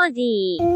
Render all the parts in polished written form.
ジー。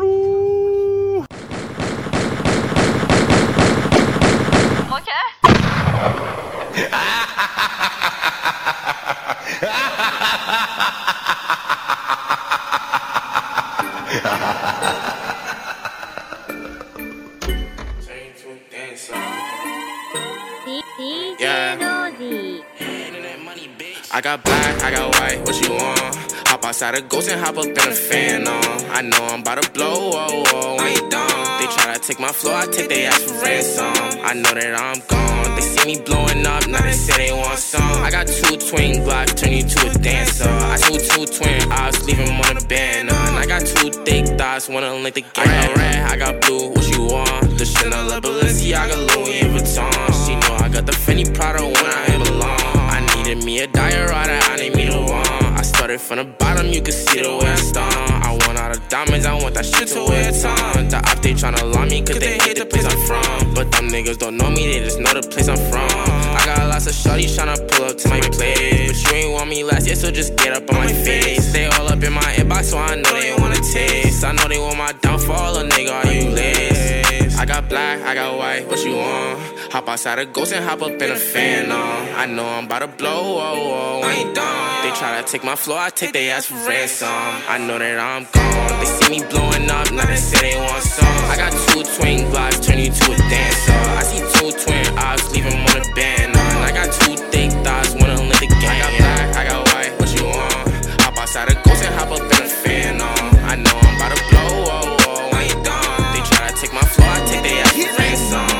I got black, I got white, what you want? Hop outside a ghost and hop up in a fan on. I know I'm about to blow, whoa, whoa, I ain't done. They try to take my flow, I take their ass for ransom. I know that I'm gone, they see me blowing up, now they say they want some. I got two twin Glocks, turn you to a dancer. I shoot two twin eyes, leave him on a banner. And I got two thick thighs, wanna link the game. I got red, I got blue, what you want? The Chanel, Balenciaga, Louis Vuitton. She know I got the Fendi Prada when I belong. Needed me a diorama, I need me the one. I started from the bottom, you can see the way I stung. I want all the diamonds, I want that shit to wear a ton. The op, they tryna lie me, cause they hate the place I'm from. But them niggas don't know me, they just know the place I'm from. I got lots of shorties tryna pull up to my place, but you ain't want me last year, so just get up on my face. They all up in my inbox, so I know they wanna taste. I know they want my downfall, a nigga, are you lazy? I got black, I got white, what you want? Hop outside a ghost and hop up in a fan on. I know I'm about to blow, whoa, whoa, I ain't done. They try to take my flow, I take their ass for ransom. I know that I'm gone, they see me blowing up, now they say they want some. I got two twin Glocks, turn you to a dancer. I see two twin eyes, leave him on a banner. And I got two thick thighs, wanna live the game. I got black, I got white, what you want? Hop outside a ghost and hop up in a fan on. I know I'm about to blow, whoa, whoa, I ain't done. They try to take my flow, I take their ass for ransom.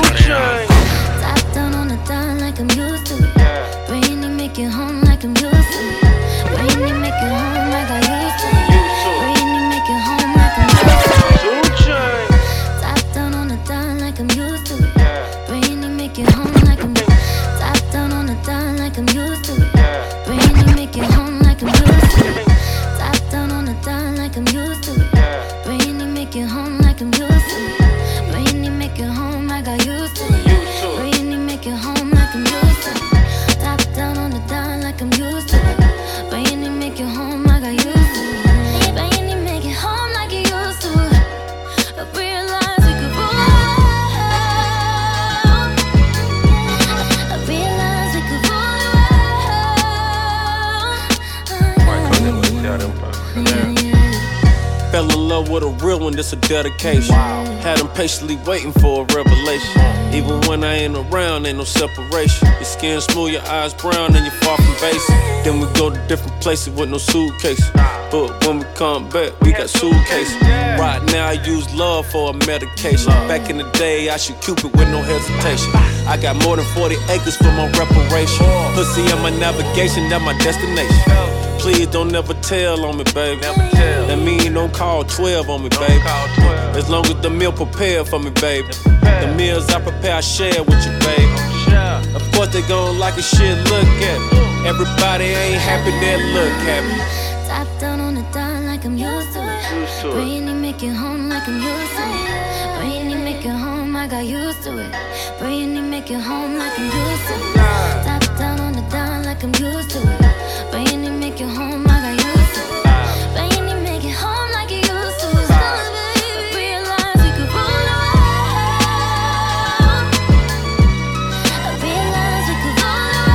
Top down on the dime like I'm used to it. Brainy make it home like I'm used to it. Brainy make it home like I used to it. Brainy make it home like I'm used to it. Top down on the dime like I'm used to it. Brainy make it home like I'm used to it. Top down on the dime like I'm used to it. Brainy make it home like I'm used to it. Top down on the dime like I'm used to it. Brainy make it home like I'm used to it. Brainy make it home like I used to it. Brainy make it home like I'm used to it. Top down on the dime like I'm used to it. Brainy make it home like I used to it. Brainy make it home like you used to it. I realized we could roll out. I realized we could roll out. Fell in love with a real one, this a dedication. Had them patiently waiting for a revelation. Even when I ain't around, ain't no separation. Your skin smooth, your eyes brown, and you're far from basic. Then we go to different places with no suitcase. But when we come back, we got suitcases. Right now I use love for a medication. Back in the day, I shoot Cupid with no hesitation. I got more than 40 acres for my reparation. Pussy on my navigation, that's my destination. Please don't never tell on me, baby. That mean don't call 12 on me, baby. As long as the meal prepared for me, baby. The meals I prepare, I share with you, baby. Of course they gon' like a shit, look at me. Everybody ain't happy, they look happy. Top down on the dime like I'm used to it. Brainy make it home like I'm used to it. Brainy make it home like I used to it. Brainy make it home like I'm used to it. Top down on the dime like I'm used to it. Brainy make it home like I used to it. Brainy make it home like you used to it. I realized we could roll out. I realized we could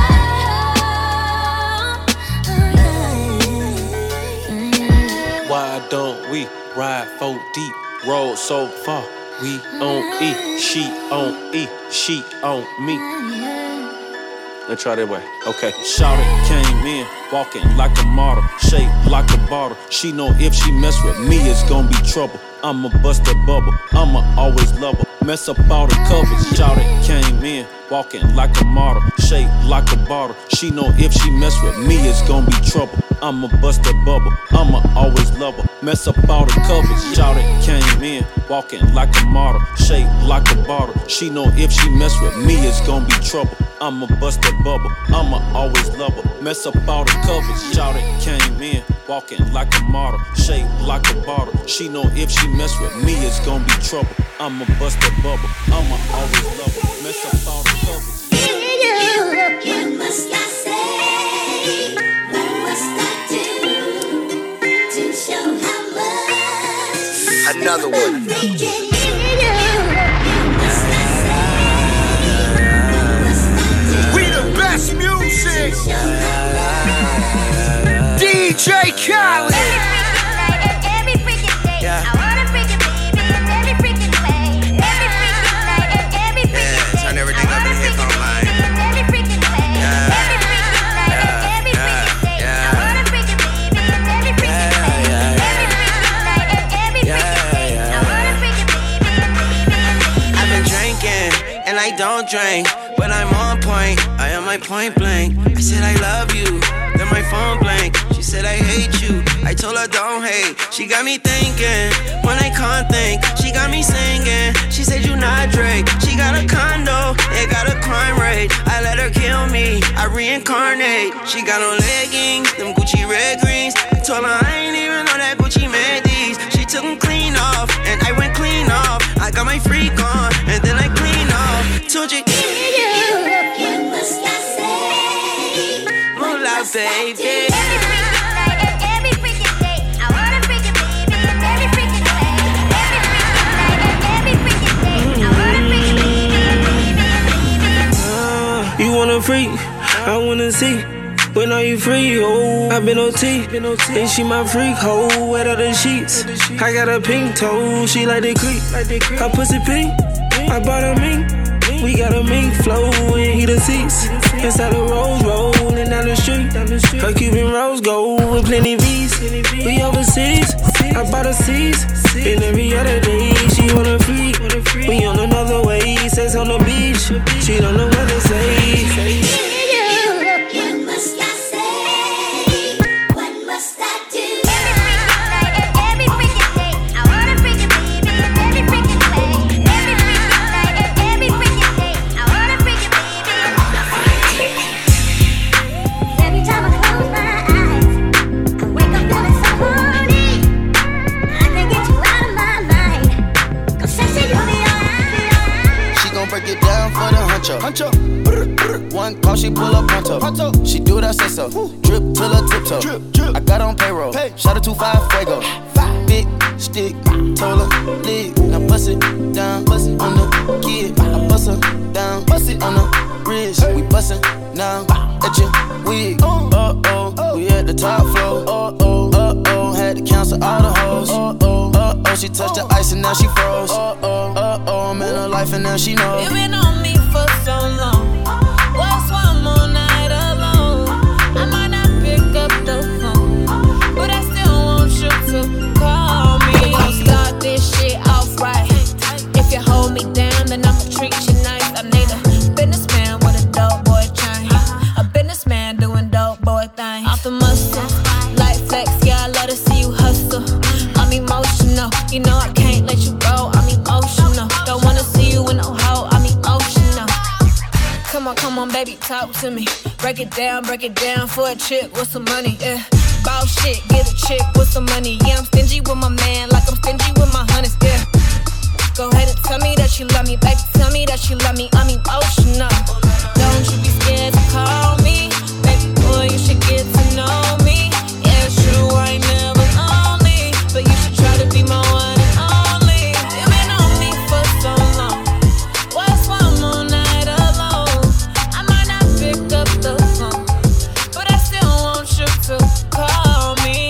roll out. Why don't we ride 4 deep, roll so far? We on E, she on E, she on me. Let's try that way. Okay. Shawty came in, walking like a model, shaped like a bottle. She know if she mess with me, it's gonna be trouble. I'ma bust that bubble, I'ma always love her. Mess up all the covers. Shawty came in, walking like a model, shaped like a bottle. She know if she mess with me, it's gonna be trouble. I'ma bust that bubble, I'ma always love her. Mess up all the covers. Shawty came in, walking like a model, shaped like a bottle. She know if she mess with me, it's gonna be trouble. I'ma bust that bubble, I'ma always love her. Mess up all the covers. Shawty came in, walking like a model, shaped like a bottle. She know if she mess with me, it's gonna be trouble. I'ma bust that bubble, I'ma always love her. Mess up all the covers. What must I say? What must I do to show how much another one. We the best music. DJ Khaled. Every freaking day, I wanna freaking baby. Every freaking way, every freaking night, every freaking day. Turn everything up in the headphone line. Every freaking way, every freaking night, every freaking day. I wanna freaking baby. Every freaking way, every freaking night, every freaking day. I wanna freaking baby. I've been drinking and I don't drink, but I'm on point. I am my point blank. I said I love you, then my phone blank. She said I hate you, I told her don't hate. She got me thinking, when I can't think. She got me singing, she said you not Drake. She got a condo, it got a crime rate. I let her kill me, I reincarnate. She got on leggings, them Gucci red greens. I told her I ain't even know that Gucci made these. She took them clean off, and I went clean off. I got my freak on, and then I clean off. Told you, What must I say? move out, baby. Every freaking night, every freaking day. I wanna freaking baby. Every freaking way, every freaking night, every freaking day. I wanna freaking baby. You wanna freak? I wanna see. When are you free? Oh, I've been OT. And she my freak, hoe, wet out the sheets. I got a pink toe, she like the creep. Her pussy pink, I bought a mink. We got a mink flow and heated seats. Inside the rose, rolling down the street. Her Cuban rose gold with plenty V's. We overseas, I bought a seas. And every other day, she wanna freak. We on another way, sex on the beach. She don't know what to say. What must I say? What must I do? Every freaking night, every freaking day. I wanna freaking baby. Every freaking way, every freaking night, every freaking day. I wanna freaking baby. Every time I close my eyes, I wake up feeling so horny. I can't get you out of my mind. 'Cause sexy, you'll be alright. She gon' break it down for the huncho. One call, she pull up pronto. She do what I say so. Drip till her tiptoe. I got on payroll. Shout out 25 Fuego. Big stick, told her leg. Now bust it down, on the kid. I bust her down, on the wrist. We bustin' now at your wig. We at the top floor. Had to cancel all the hoes. She touched the ice and now she froze. I'm in her life and now she knows. You been on me for so long. What's one more night alone? I might not pick up the phone, but I still want you to call me. I'll start this shit off right. If you hold me down, then I'ma treat you nice. I need a businessman with a dope boy chain. A businessman doing dope boy things. Off the muscle, light flex, yeah, I love to see you hustle. I'm emotional, you know I can't let you go. I'm emotional, don't wanna see you in no hole. I'm emotional. Come on, baby, talk to me. Break it down for a chick with some money, yeah. Boss shit, get a chick with some money. Yeah, I'm stingy with my man, like I'm stingy with my honeys, yeah. Go ahead and tell me that you love me, baby, tell me that you love me. I'm emotional. Don't you be scared to call me, baby boy, you should get to know me. Yeah, it's true, I ain't never lonely, but you should try to be my one and only. You been on me for so long. What's one more night alone? I might not pick up the phone, but I still want you to call me.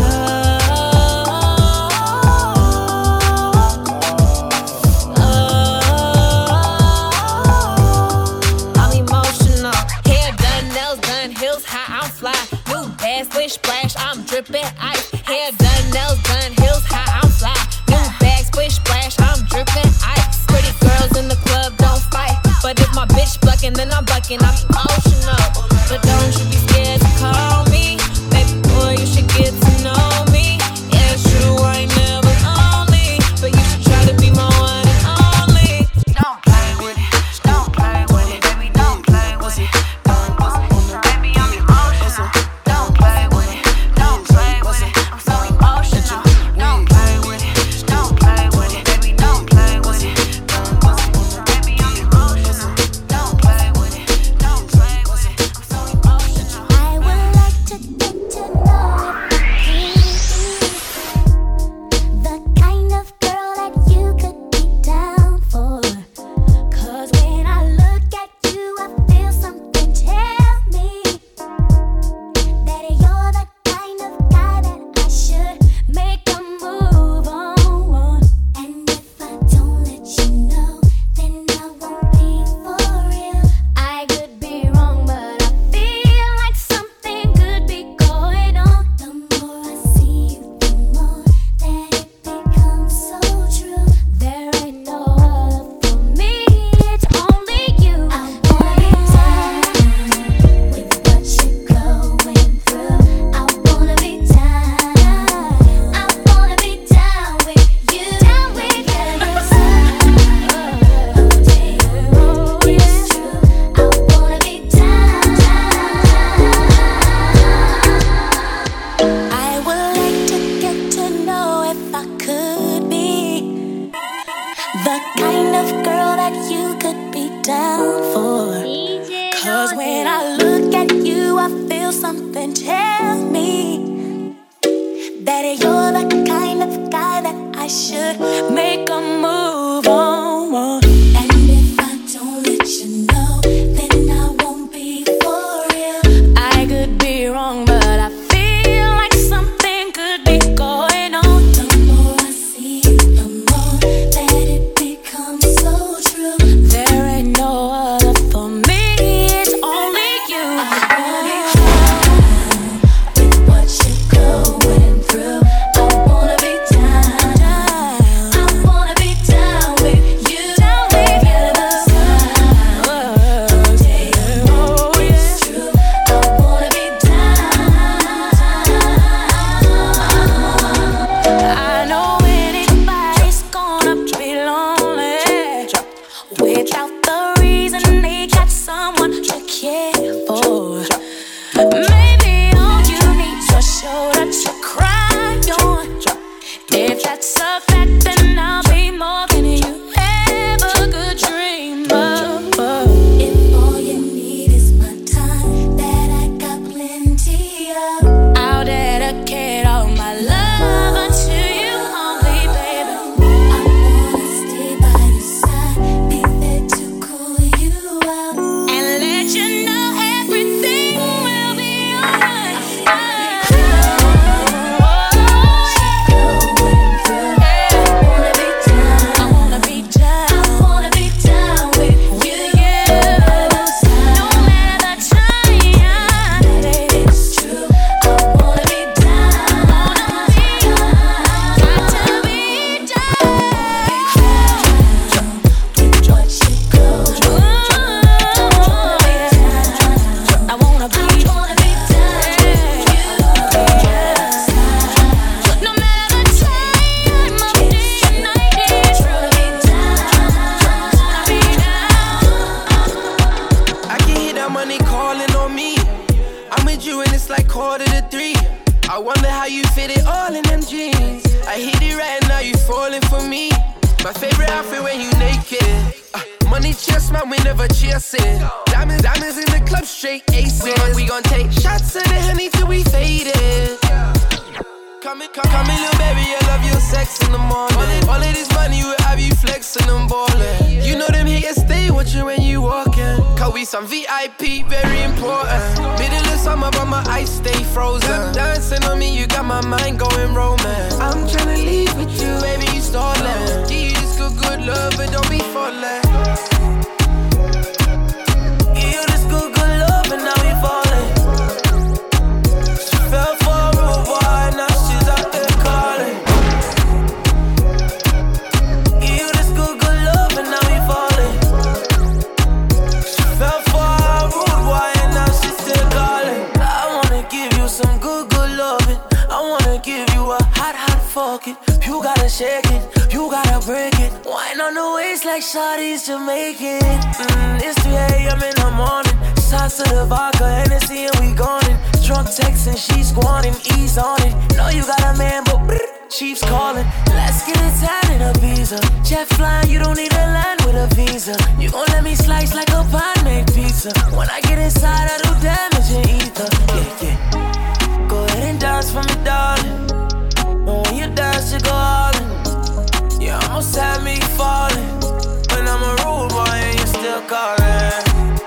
I'm emotional. Hair done, nails done, heels high, I'm fly. New bag, splish splash, I'm dripping ice. Hair done, nails done, heels high, I'm fly. New bag, splish splash, I'm dripping ice. Pretty girls in the club don't fight, but if my bitch bucking, then I'm bucking. I'm emotional, but don't you be scared to call me, baby boy. You should get to know me. Yeah, it's true, I ain't never lonely, but you should try to be my one and only. Don't play with it, don't play with it, baby, don't play with it. Baby, I'm emotional. Don't play with it, don't play with it. I'm so emotional. Don't play with it, don't play with it, baby, don't play with it. Baby, I'm emotional. Don't play with it, don't The kind of girl that you could be down for. Cause when I look at you, I feel something tell me that you're the kind of guy that I should make a move on. And if I don't let you know, then I won't be for real. I could be wrong, but I feel like something could be going on. The more I see it, the more that it becomes so true. There ain't no other for me, it's only you. I wanna be down with what you're going through. I wanna be down. I wanna be down with you. Down with you. Someday I know it's true. I wanna be down. I know anybody's gonna be lonely without the reason they got someone to care for. Maybe all you need's a shoulder to cry on. If that's a fact, then I'll be more than you ever could dream of. If all you need is my time, that I got plenty of, I'll dedicate all my love unto you only, baby. I wanna stay by your side, be there to cool you out, and let you know everything will be alright. I wanna be down. I wanna be down with you. No matter the time, it's true. I wanna be down. Got to be down with what you go through. I wanna be down with you. No matter the time of day and night, it's true. Be down. I can hear that money calling on me. I'm with you and it's like 2:45. I wonder how you fit it all in them jeans. I hit it right now, you falling for me. My favorite outfit when you naked. Money chest, man, we never chasing. Diamonds in the club, straight aces. We gon' take shots of the honey till we faded. Come in, little baby, I love your sex in the morning. All of this money will have you flexing and ballin'. You know them haters stay with you when you walkin'. Cause we some VIP, very important. Middle of summer, but my ice stay frozen. Dancing on me, you got my mind going romance. I'm tryna leave with you, baby, you stallin'. Give you this good love, but don't be fallin'. Give you this good love, and now we fallin'. She fell for a rude boy, now she's out there calling. Give you this good love, and now we fallin'. She fell for a rude boy, and now she's still calling. I wanna give you some good loving. I wanna give you a hot fucking. You gotta shake it, you gotta break it. Wine on the waist like shawty's Jamaican. It's 3 a.m. in the morning. Shots to the vodka, Hennessy, and we gone in. Drunk texting, she's squatting, ease on it. Know you got a man, but Chiefs calling. Let's get it tied in a visa. Jet flying, you don't need a land with a visa. You gon' let me slice like a pie-made pizza. When I get inside, I do damage in ether. Yeah. Go ahead and dance for me, darling. When you dance, you go all in. You almost had me falling. When I'm a rude boy and you still calling.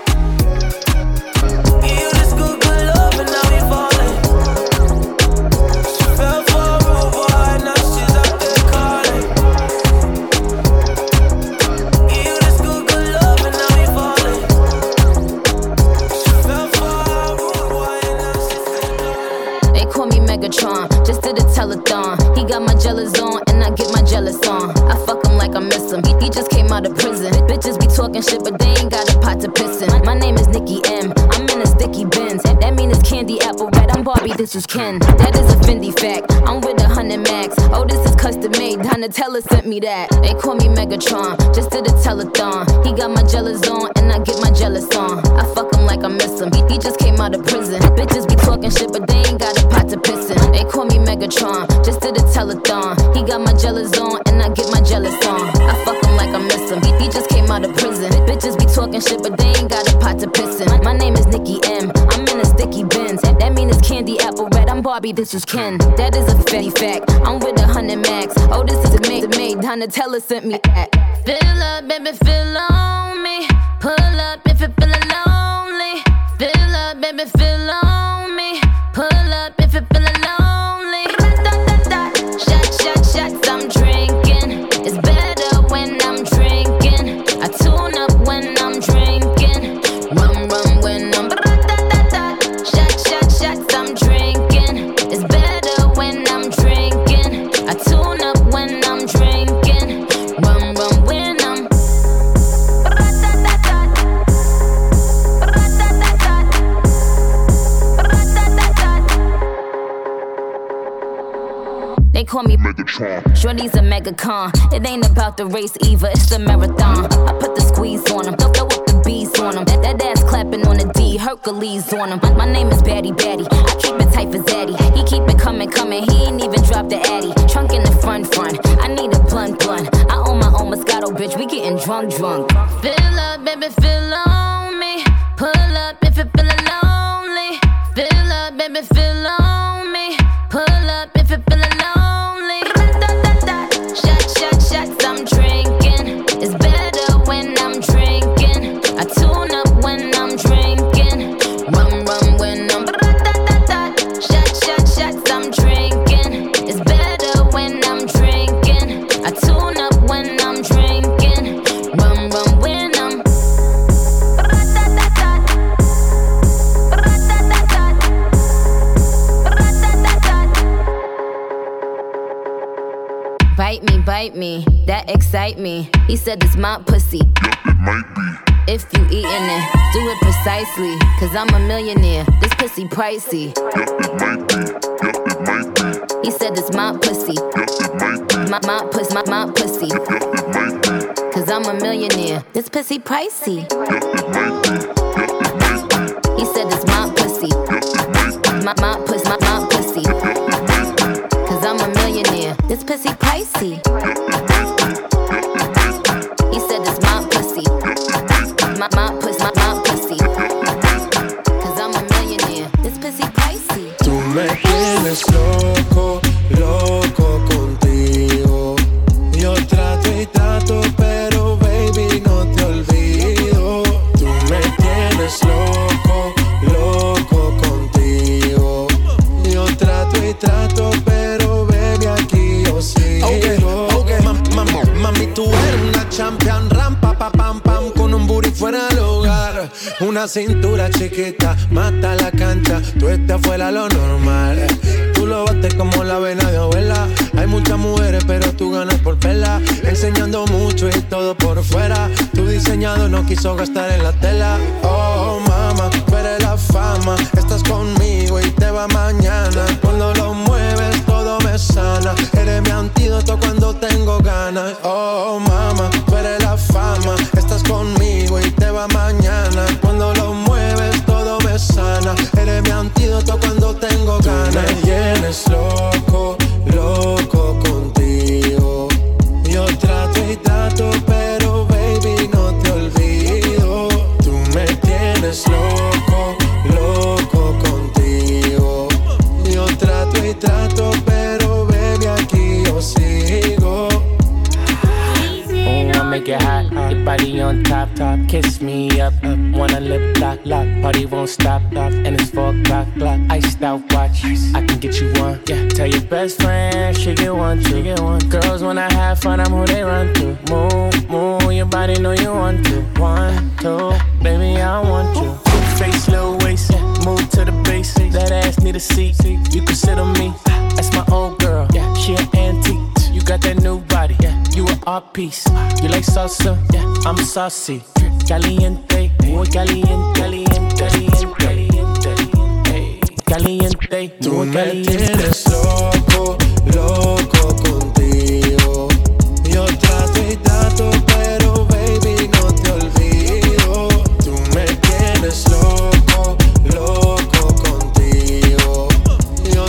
Give you this good love and now we falling. She fell for a rude boy, now she's out there calling. Give you this good love and now we falling. She fell for a rude boy and now she's still calling. They call me Megatron, just did a telethon. He got my jealous on, and I get my jealous on. I fuck him like I miss him. He just came out of prison. Bitches be talking shit, but they ain't got a pot to piss in. My name is Nicki M. I'm in a sticky Benz. That mean it's candy apple red. I'm Barbie, this is Ken. That is a Fendi fact. I'm with 100 max. Oh, this is custom made. Donatella sent me that. They call me Megatron, just did a telethon. He got my jealous on, and I get my jealous on. I fuck him like I miss him. He just came out of prison. Bitches be talking shit, but they ain't got a pot to piss in. They call me Megatron, just did a telethon. He got my jealous on, and I get my jealous on. I fuck him like out of prison. Bitches be talking shit, but they ain't got a pot to piss in. My name is Nicki M. I'm in a sticky Benz. That mean it's candy apple red. I'm Barbie, this is Ken. That is a fatty fact. I'm with 100 max. Oh, this is a made. Donatella sent me that. Fill up, baby, fill on me. Pull up if you're feeling lonely. Fill up, baby, fill on me. Pull up if you're feeling lonely. Shots, I'm drinking. It's better when I'm drinking. I tune up when I'm drinking. Rum when I'm shots, I'm drinking. It's better when I'm drinking. I tune up when I'm drinking. Rum when I'm They call me Megatron. Shorty's a megacon. It ain't about the race either, it's the marathon. I put the squeeze on him, throw up the bees on him. That ass clapping on the D, Hercules on him. My name is Batty. I keep it tight for Zaddy. He keep it coming. He ain't even dropped the Addy. Trunk in the front. I need a blunt. I own my own Moscato, bitch. We getting drunk. Fill up, baby, fill on me. Pull up if you're feeling lonely. Fill up, baby, fill on me. Pull up if you're feeling lonely. Shots, I'm drinking. It's better when I'm drinking. I tune up when I'm drinking. Rum when I'm shots, I'm drinking. It's better when I'm drinking. I tune up when I'm drinking. Rum when I'm Bite me, that excite me. He said it's my pussy. Yep, it might be. If you eatin' it, do it precisely. Cause I'm a millionaire, this pussy pricey. Yep, it might be. Yep, it might be. He said it's my pussy. Yep, it might be. My pussy. Yep, it might be. Cause I'm a millionaire, this pussy pricey. Yep, it might be. Yep, it might be. He said it's my pussy. Yep, it might be. My pussy. Yep, it might be. Cause I'm a millionaire, this pussy pricey. He said it's my pussy. My pussy. Cause I'm a millionaire, this pussy pricey. Tú me tienes loco contigo. Yo trato, pero baby no te olvido. Tú me tienes loco contigo. Yo trato, pero baby aquí yo sigo. Okay. Mami, tú eres una champion, rampa, pam, con un booty fuera del hogar. Una cintura chiquita, mata la cancha, tú estás fuera lo normal. Tú lo bates como la vena de abuela. Hay muchas mujeres, pero tú ganas por verla. Enseñando mucho y todo por fuera. Tu diseñado no quiso gastar en la tela. Oh, mama, tú eres la fama. Estás conmigo y te va mañana. Cuando lo mueves, todo me sana. Eres mi antídoto cuando tengo ganas. Oh, mama, tú eres la fama. Estás conmigo y te va mañana. Cuando lo mueves, todo me sana. Eres mi antídoto cuando tengo ganas. Tú me tienes loco contigo. Yo trato, pero baby no te olvido. Tú me tienes loco contigo. Yo trato, pero baby aquí yo sigo. I make it hot, your body on top, kiss me up, wanna lip lock, party won't stop, and it's 4 o'clock, iced out watch, I can get you one, yeah, tell your best friend, she get one, girls wanna have fun, I'm who they run to, move, your body know you want to, 1, 2, baby I want you, big face, little waist, move to the base, that ass need a seat, you can sit on me, that's my old girl, yeah, she an antique, you got that new body, yeah, you an art piece, you like salsa, yeah, I'm saucy, caliente, muy caliente, Tú me tienes loco contigo. Yo trato, pero baby no te olvido. Tú me tienes loco contigo. Yo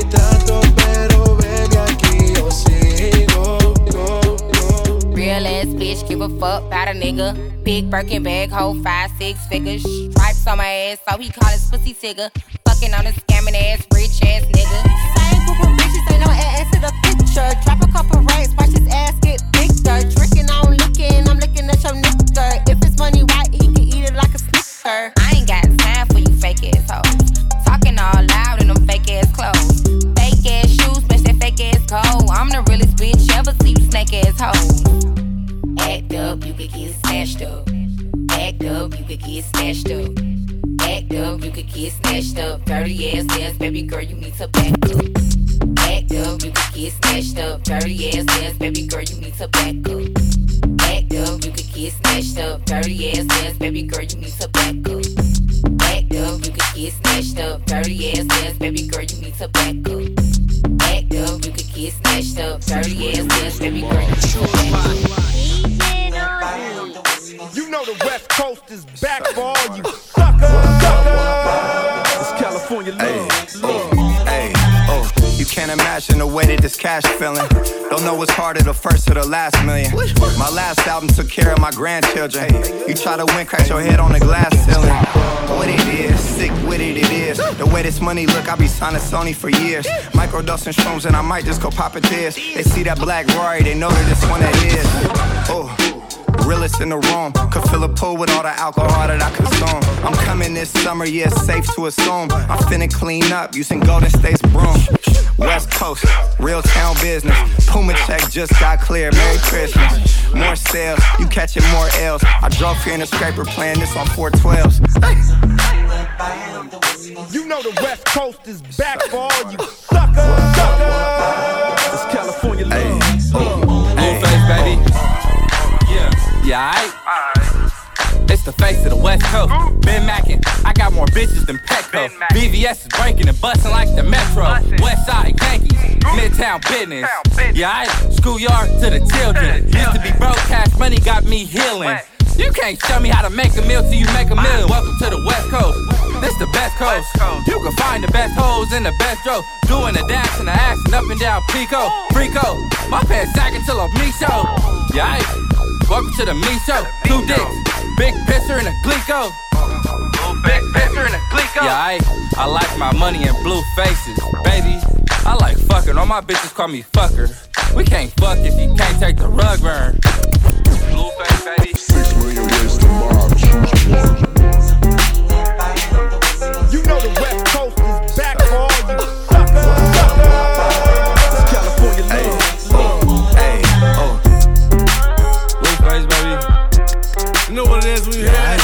trato, pero baby aquí yo sigo. Real ass bitch, give a fuck about a nigga. Big Birkin bag, hold 5-6 figures. Stripes on my ass, so he call his pussy Tigger. Fucking on a scamming ass, rich ass nigga. Same group of bitches, ain't no ass to the picture. Drop a couple racks, watch his ass get bigger. Drinking on licking, I'm looking at your nigga. If it's money right, he can eat it like a snicker. I ain't got time for you fake ass hoes. Talking all loud in them fake ass clothes. Fake ass shoes, match that fake ass coat. I'm the realest bitch ever see you snake ass hoes. Act up, you could get snatched up. Act up, you could get snatched up. Act up, you could get snatched up. Dirty ass, baby girl, you need to back up. Act up, you could get snatched up. Dirty ass, baby girl, you need to back up. Act up, you could get snatched up. Dirty ass, baby girl, you need to back up. Act up, you could get snatched up. Dirty ass, baby girl, you need to back up. Act up, you could get snatched up. Dirty ass, baby girl, you need to back up. You know the West Coast is back for all you suckers. It's California love. Hey, you can't imagine the way that this cash feeling. Don't know what's harder, the first or the last million. My last album took care of my grandchildren. You try to win, crack your head on the glass ceiling. What it is, sick with it is. The way this money look, I be signing Sony for years. Microdosing shrooms and I might just go pop a tears. They see that black Rory, they know that it's one that is. Oh. Realest in the room, could fill a pool with all the alcohol that I consume. I'm coming this summer, yeah, it's safe to assume. I'm finna clean up, using Golden State's broom. West Coast, real town business. Puma check just got clear, Merry Christmas. More sales, you catching more L's. I drove here in a scraper playing this on 412s. You know the West Coast is back for all you suckers. It's California love. Blueface, baby. Yeah, aight. It's the face of the West Coast. Been mackin', I got more bitches than Petco. BVS is breaking and bustin' like the Metro. West Side Yankees, Midtown business. Yeah, aight. Schoolyard to the children. Used to be broke, cash money got me healing. You can't show me how to make a meal till you make a meal. Welcome to the West Coast. This the best coast. You can find the best hoes in the best row. Doing the dash and the ass and up and down Pico. Frico. My pants sagging till I'm me show. Yeah, aight. Welcome to the me show. 2 dicks, big pisser and a glico. Big pisser and a glico. Yeah, I like my money in blue faces, baby. I like fucking. All my bitches call me fucker. We can't fuck if you can't take the rug burn. Blueface, baby. 6 million ways to mob, choose one. You know the West Coast is back for all you suckers. It's California love. You know what it is we had?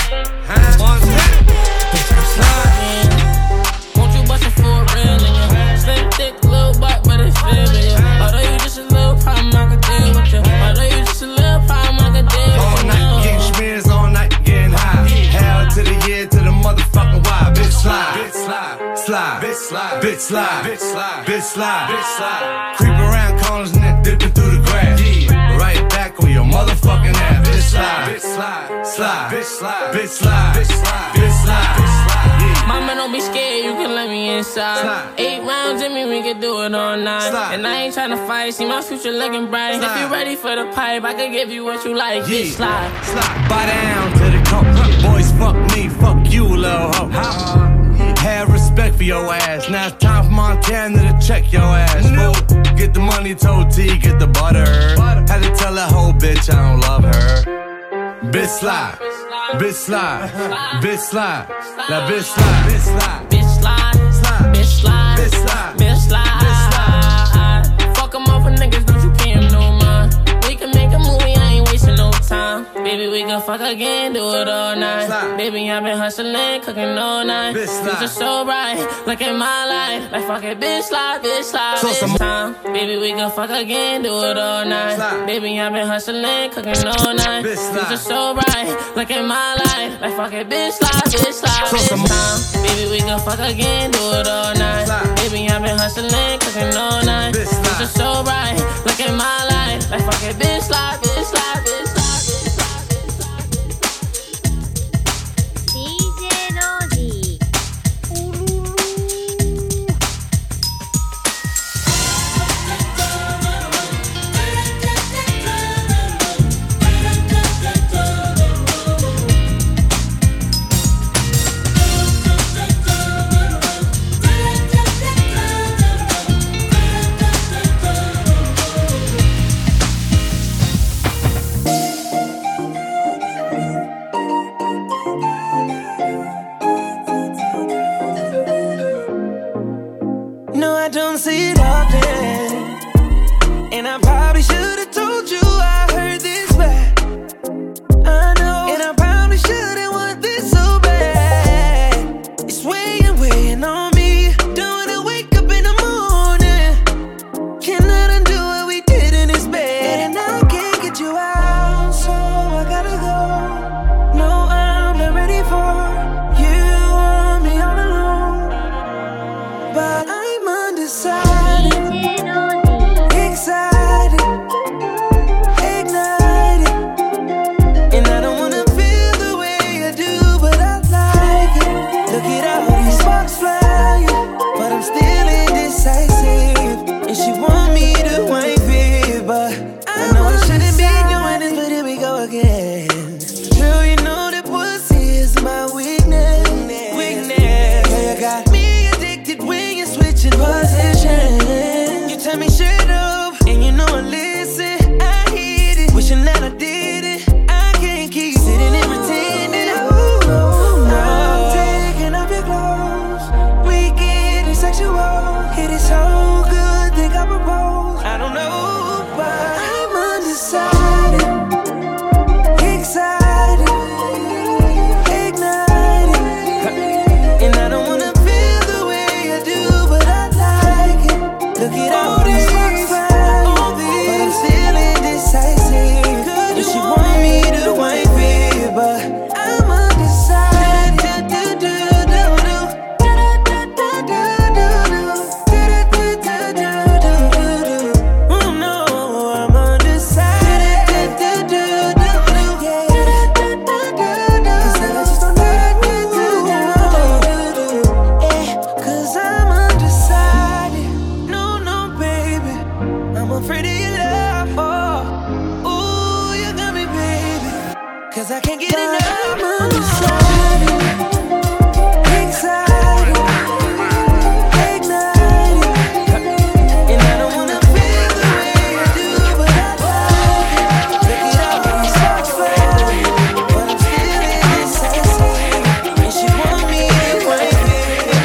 Won't you bust it for a real nigga? Slim, thick, little butt, but it's feeling you. Although you just a little problem, I can deal with you. Although you just a little problem, I can deal with you. All night getting schmears, all night getting high. Hell to the year, to the motherfucking why. Bitch slide, bitch slide, slide, bitch slide, bitch slide, bitch slide, bitch slide, bitch slide. Creep around corners and then dipping through the grass. Right back on your motherfucking ass. Bitch slide, bitch slide, slide, bitch slide, bitch slide, bitch slide, bitch slide, bitch slide. Mama, don't be scared, you can let me inside. 8 rounds in me, we can do it all night. And I ain't tryna fight, see my future looking bright. If you ready for the pipe, I can give you what you like. Bitch slide, slide. Buy down to the coke. Boys, fuck me, fuck you, little hoe. Have respect for your ass. Now it's time for Montana to check your ass. Fool. Get the money, told T, get the butter. Had to tell that whole bitch I don't love her. Bitch slide, bitch slide, bitch slide. Now bitch slide, bitch slide, bitch slide, bitch slide, bitch slide, bitch slide. Fuck 'em up for niggas, don't you pay 'em no mind. We can make a movie, I ain't wasting no time. Baby, we can fuck again, do it all night. Baby, I've been hustling, cooking all night. Future so bright, look at my life. Like fuck it, bitch slide, bitch slide, bitch time. Baby, we can fuck again, do it all night. Baby, I've been hustling, cooking all night. Future so bright, look at my life. Like fuck it, bitch slide, bitch slide, bitch time. Baby, we can fuck again, do it all night. Baby, I've been hustling, cooking all night. Future so bright, look at my life. Like fuck it, bitch slide, bitch slide, bitch slide. friends. Girl, you know that pussy is my weakness. Yeah, you got me addicted when you're switching positions. You tell me shut up, and you know I listen. I hit it, wishing that I did it. I can't keep sitting and pretending. I'm taking off your clothes. We getting sexual. Hit it so good, think I propose. I don't know, but I'm undecided, excited, ignited, and I don't wanna feel the way I do, but I like it. Look at all these looks fine, but I'm still indecisive. And she want me to wife it, but I'm undecided. Oh no, I'm undecided. Cause I'm undecided. No, baby, I'm afraid of your love. Oh, ooh, you got me, baby. Cause I can't get enough. I'm undecided, excited, ignited, and I don't wanna feel the way I do, but I like it. Look at all these hot flags, but I'm still indecisive, and she want me to wife it.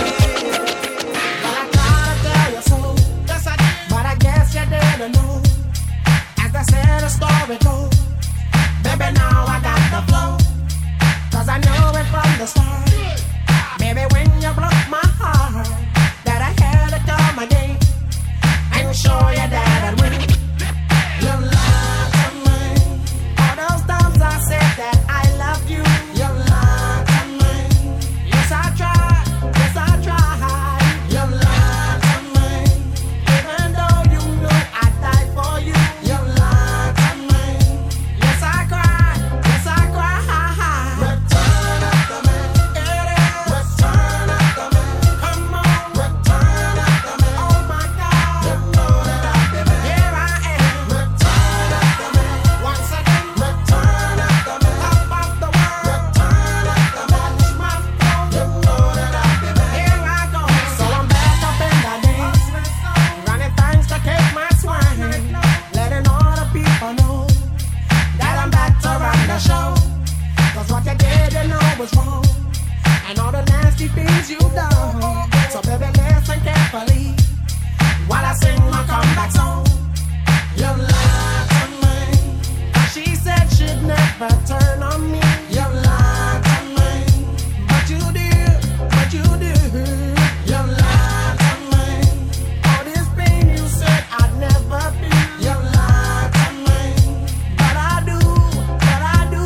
But I gotta tell you so. But I guess you didn't know. As I said, the story goes. Baby, now I got the flow. Cause I knew it from the start. Baby, when you broke my heart, that I had to come again and show you that I'd win. You lied to me. All those times I said that I loved you. You lied to me. Yes, I tried. Yes, I tried. You lied to me. Even though you knew I'd die for you. You lied to me. Yes, I cried. Yes, I cried. Return of the man. It is. Return of the man. Come on. Return of the man. Oh my God. You know that I've been here. Here I am. Return of the man. Once again. Return of the man. Top of the world. Return of the man. Watch my phone. You know that I've been here. Here I go. So I'm back up in the dance. Running things to keep my swing. Letting all the people know that I'm back to run the show. Cause what you did, you know was wrong. And all the nasty things you done. So baby, listen carefully while I sing my comeback song. You lied to me. She said she'd never turn on me. You lied to me. But you did. But you did. You lied to me. All this pain you said I'd never feel. You lied to me. But I do. But I do.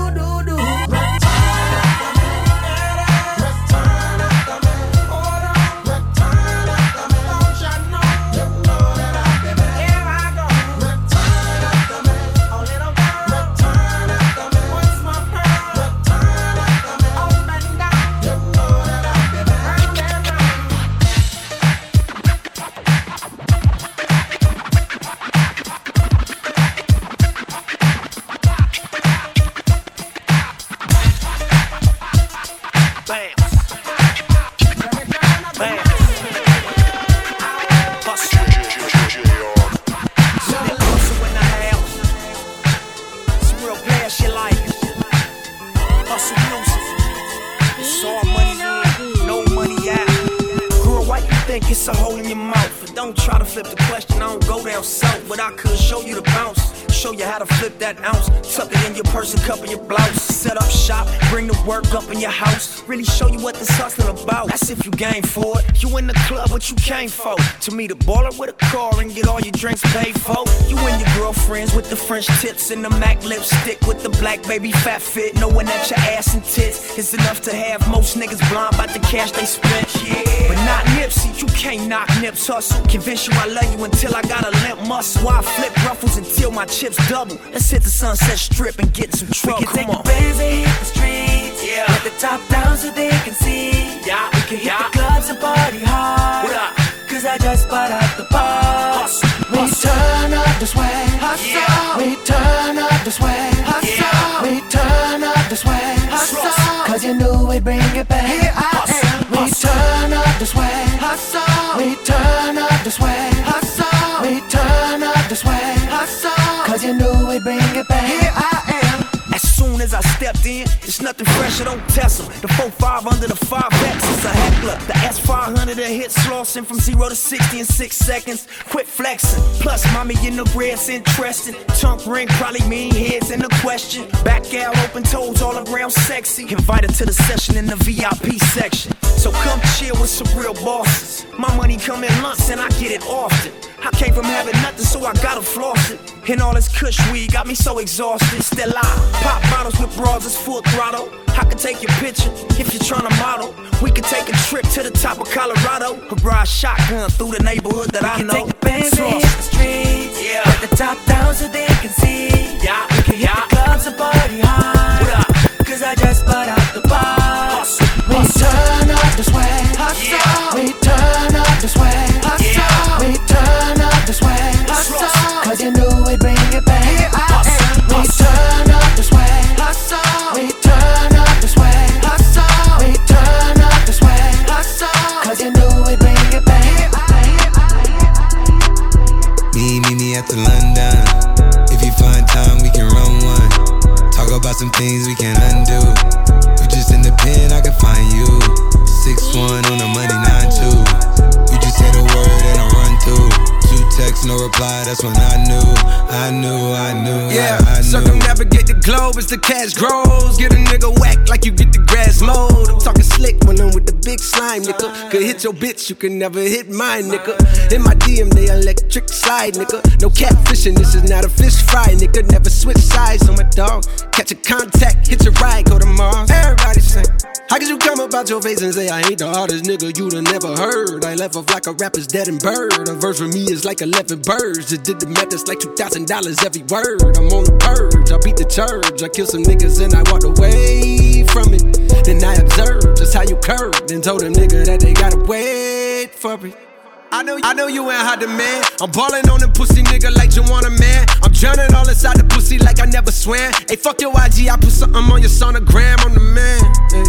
Return of the man. Return of the man. Hold on. Return of the man. Don't you know? You know that I've been here. I go. Return of the man. Oh little girl. Return of the man. What's my pearl? Return of the man. Up and down. You know that I've been round and round. Bam. Bam. Hustle. Hustle in the house. Some real gas you like. Hustle music. It's all money in, no money out. Girl, why you think it's a hole in your mouth? And don't try to flip the question, I don't go down south. But I could show you the bounce. Show you how to flip that ounce. Tuck it in your purse and cup in your blouse. Set up shop, bring the work up in your house. Really show you what this hustling about. That's if you game for it. You in the club, what you came for? To meet a baller with a car and get all your drinks paid for. You and your girlfriends with the French tips and the MAC lipstick with the black baby fat fit. Knowing that your ass and tits is enough to have most niggas blind about the cash they spent. Yeah. But not Nipsey, you can't knock Nip's hustle. Convince you I love you until I got a limp muscle. I flip ruffles until my chips double. Let's hit the Sunset Strip and get some trouble. We can take the bands and hit the streets. Yeah. Let the top down so they can see. Yeah. We can hit the clubs and party hard. What up? Cause I just bought out the bar. We turn up the swag. Yeah. We turn up the swag. Yeah. We hustle. We turn up the swag, hustle. We turn up the swag, hustle. Cause you knew we'd bring it back. Here I am. As soon as I stepped in, it's nothing fresher, don't test them. The 4.5 under the 5X is a heckler. The S500 that hit Slauson from 0 to 60 in 6 seconds. Quit flexing. Plus, mommy in the red's interesting. Tongue ring probably mean heads in the question. Back out, open toes all around sexy. Invited to the session in the VIP section. So come chill with some real bosses. My money come in lumps and I get it often. I came from having nothing, so I gotta floss it. And all this kush weed got me so exhausted. Still I pop bottles with broads, it's full throttle. I can take your picture if you're trying to model. We could take a trip to the top of Colorado. Or ride shotgun through the neighborhood that I know. We can take the Benz hit the streets, yeah. Let the top down so they can see. Yeah, we can hit the clubs and party hard. What up? Cause I just bought out the bar. We turn up the swag, hustle. We turn up the swag, hustle. We turn up the swag, hustle. Cause you knew we'd bring it back. Here I am. We turn up the swag, hustle. We turn up the swag, hustle. We turn up the swag, hustle. Cause you knew we'd bring it back. Me at the London. If you find time, we can run one. Talk about some things we can undo. You just in the pen, I can find you. 6'1" on the money, 9'2". You just say the word and I run through. 2 texts, no reply, that's when I knew. Yeah, circumnavigate the globe as the cash grows. Get a nigga whack like you get the grass mowed. I'm talking slick when I'm with the big slime, nigga. Could hit your bitch, you can never hit mine, nigga. In my DM, they electric slide, nigga. No catfishing, this is not a fish fry, nigga. Never switch sides on my dog. Catch a contact, hit your ride, go to Mars. Everybody sing. How could you come about your face and say I ain't the hardest nigga you'd have never heard? I left off like a rapper's dead and bird. A verse for me is like 11 birds. Just did the math, it's like $2,000 every word. I'm on the purge, I beat the church. I kill some niggas and I walked away from it. Then I observed just how you curved and told them nigga that they gotta wait for it. I know you ain't hot demand. I'm ballin' on the pussy nigga like Joanna, man. I'm drowning all inside the pussy like I never swam. Hey, fuck your IG, I put something on your sonogram. I'm the man.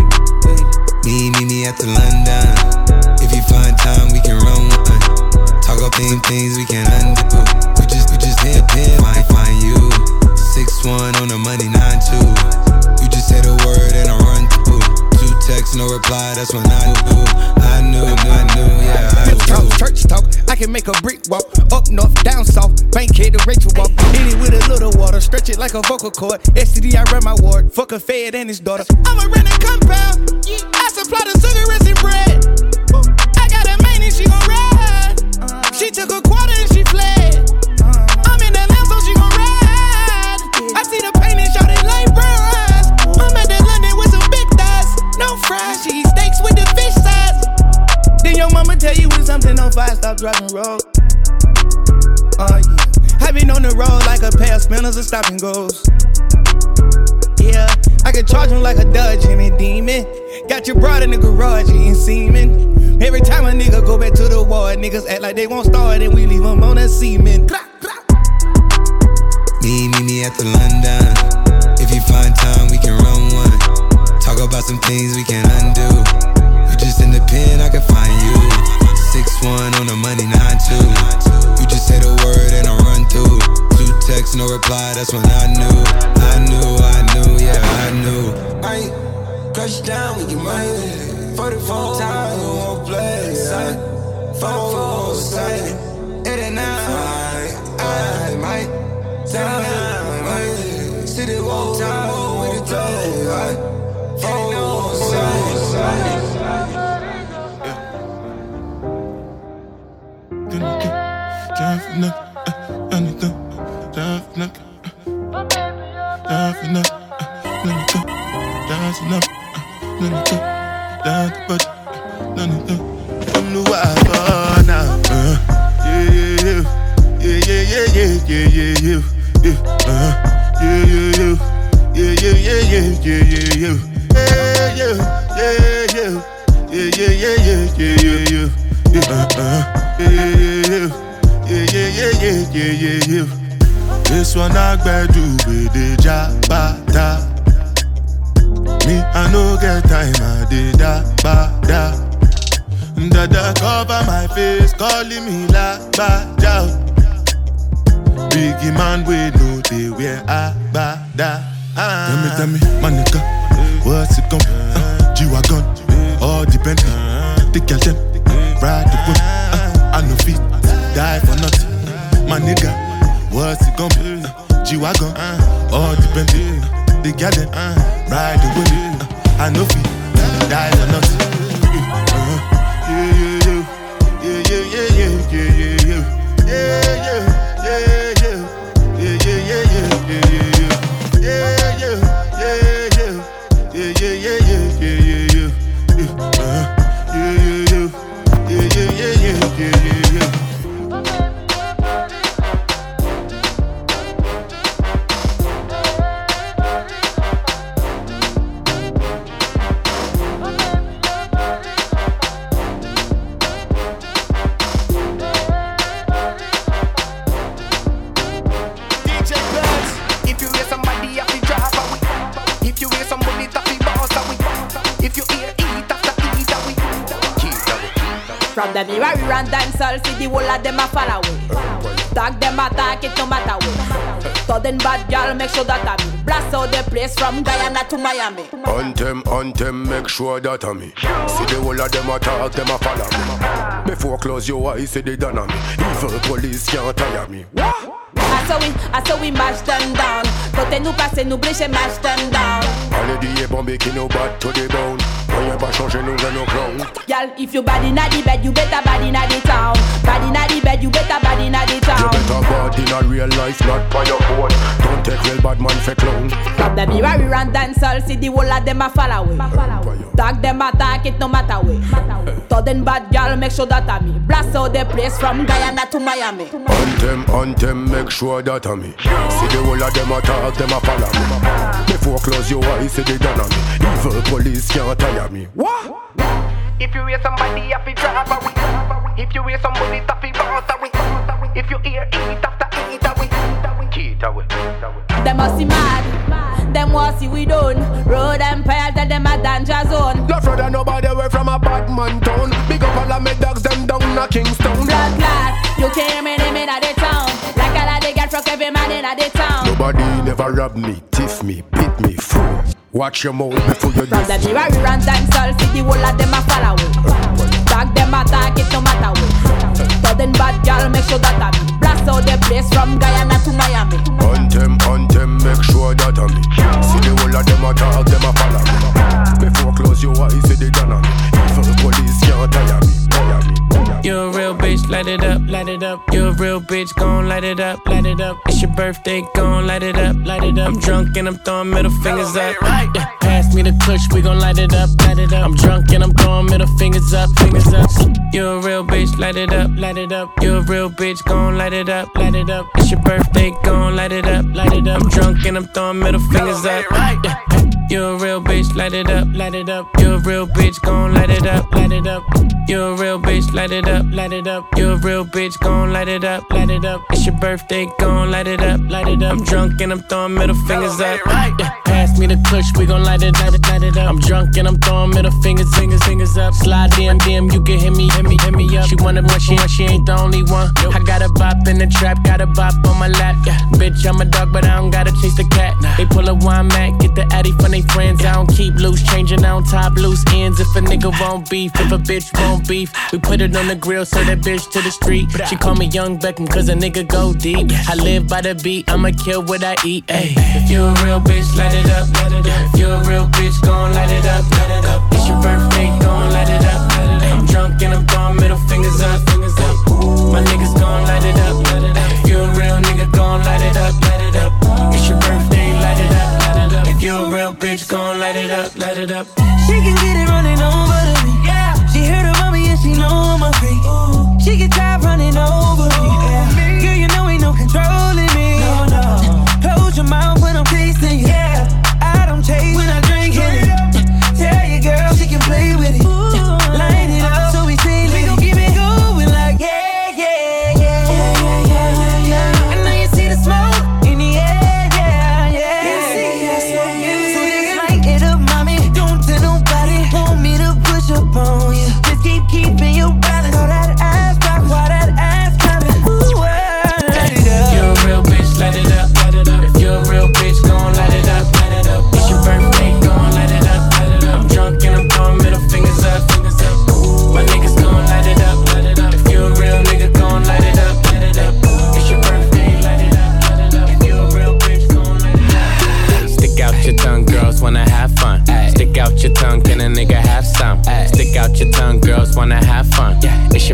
Me at the London. If you find time, we can run one. Talk about things we can undo. We just hit pin, might find you. 6'1" on the money, 9'2". You just say the word and I run through. 2 texts, no reply, that's when I knew, yeah, I knew. Church talk, I can make a brick walk. Up north, down south, Bankhead to Rachel walk. Hit it with a little water, stretch it like a vocal cord. STD, I run my ward, fuck a fed and his daughter. I'm a rented compound, I supply the sugar and bread. I got a main and she gon' ride. She took a quarter and she fled. I'm in the lamp so she gon' ride. I see the pain and shout it like bronze. I'm at the London with some big thighs. No fries, she eat steaks with the fish size. Then your mama tell you when something on fire, stop driving road. Yeah. I been on the road like a pair of spinners and stop and goes. Yeah, I can charge him like a Dodge and a demon. Got your broad in the garage eating semen. Every time a nigga go back to the ward, niggas act like they won't start and we leave them on a semen. Me at the London. If you find time, we can run one. Talk about some things we can undo. You just in the pen, I can find you. 6'1" on the money, 9'2". You just say the word and I run through. 2 texts, no reply, that's when I knew, yeah, I knew. I ain't crush down when you might. 44 times, we won't play. 4 sight. 89, I might. 79, might. City walk time with the toe. 4 sight. This one I do with the jabata. Me, I no get time, I did da ba da. Dada cover my face, calling me like Baja. Biggie man, we know they wear Agbada. Tell me, my nigga, what's it gon' be? G-Wagon, all depend. The girl them, ride the whip. I no fit, die for nothing. My nigga, what's it gon' be? G-Wagon, all depend. The girl them, ride the whip. I no fit, die for nothing. From the mirror we run dancehall, see the whole of them a follow away. Tag them attack it no matter what. Sudden bad girl make sure that I me. Blast out the place from Guyana to Miami. Them, make sure that I me. See the whole of them attack, them a follow me. Before close your eyes, see they done on me. Evil police can't tire me. I saw we mash them down. Côté nous passer, nous blécher, mash them down. Allez dire bombé qui nous bat to the bone. Rien pas changer nous dans nos clowns. Girl, if you bad inna the bed, you better bad inna the town. Bad inna the bed, you better bad inna the town. You better bad inna real life, not by your phone. Don't take real bad man for clown. From the mirror we run dancehall, see the whole of them a follow away. Tag them attack it no matter what. Sudden bad girl make sure that I me. Blast out the place from Guyana to Miami. Them, make sure that I me. See the whole of them attack, them a follow me. Before close your eyes, see they done on me. Evil police can't tire me. What? If you hear somebody happy drive away. If you hear somebody happy bounce away. If you hear eat after eat away. Eat away. Them must be mad. Them want see we done. Road Empire tell them a danger zone. No afraid of nobody away from a bad man town. Big up all of me dogs, them down a Kingston. Blood clot, you can't hear me them in the town. Like all of they get from every man in the town. Nobody never rob me, tiff me, beat me, fool. Watch your mouth before you From the mirror we run dancehall, see the whole of them a follow away. Tag them attack it no matter what. Sudden bad girl make sure that I me. Blast out the place from Guyana to Miami. Them, make sure that I me. See the whole of them attack, them a follow me. Before close your eyes, see they done on me. Evil police can't tire me. You're a real bitch, light it up, light it up. You're a real bitch, gon' light it up, light it up. It's your birthday, gon' light it up, light it up. I'm drunk and I'm throwing middle fingers up. Yeah, pass me the kush, we gon' light it up, light it up. I'm drunk and I'm throwing middle fingers up, fingers up. You're a real bitch, light it up, light it up. You're a real bitch, gon' light it up, light it up. It's your birthday, gon' light it up, light it up. I'm drunk and I'm throwing middle fingers up. Yeah. You're a real bitch, light it up, light it up. You're a real bitch, gon' light it up, light it up. You're a real bitch, light it up, light it up. You're a real bitch, gon' light it up, light it up. It's your birthday, gon' light it up, light it up. I'm drunk and I'm throwing middle fingers up. Yeah, pass me the kush, we gon' light it up. I'm drunk and I'm throwing middle fingers up. Slide DM, you can hit me up. She wanna run, she ain't the only one. I got a bop in the trap, got a bop on my lap. Yeah, bitch, I'm a dog, but I don't gotta chase the cat. They pull a wine mat, get the addy from they friends. I don't keep loose, changing on top loose ends. If a nigga won't beef, if a bitch won't beef, we put it on the grill, send that bitch to the street. She call me Young Beckham, cause a nigga go deep. I live by the beat, I'ma kill what I eat. Ay. If you a real bitch, light it up. If you a real bitch, gon' light it up. It's your birthday, gon' light it up. I'm drunk and I'm throwing middle fingers up. My niggas gon' light it up. If you a real nigga, gon' light it up. It's your birthday, light it up. If you a real bitch, gon' light it up. She can get it running over to me. Yeah. She heard about me and she know I'm a freak. Ooh. She get tired running over me. Yeah. Girl, you know ain't no controlling me. No. Close your mouth when I'm tasting you. Yeah. I don't chase when I drink it. Tell your girl she can play with it. Ooh. Light it up so we stay lit. We gon' keep it going like yeah. I know you see the smoke in the air. So just light it up, mommy. Don't tell nobody. Want me to push up on you. Just keep keeping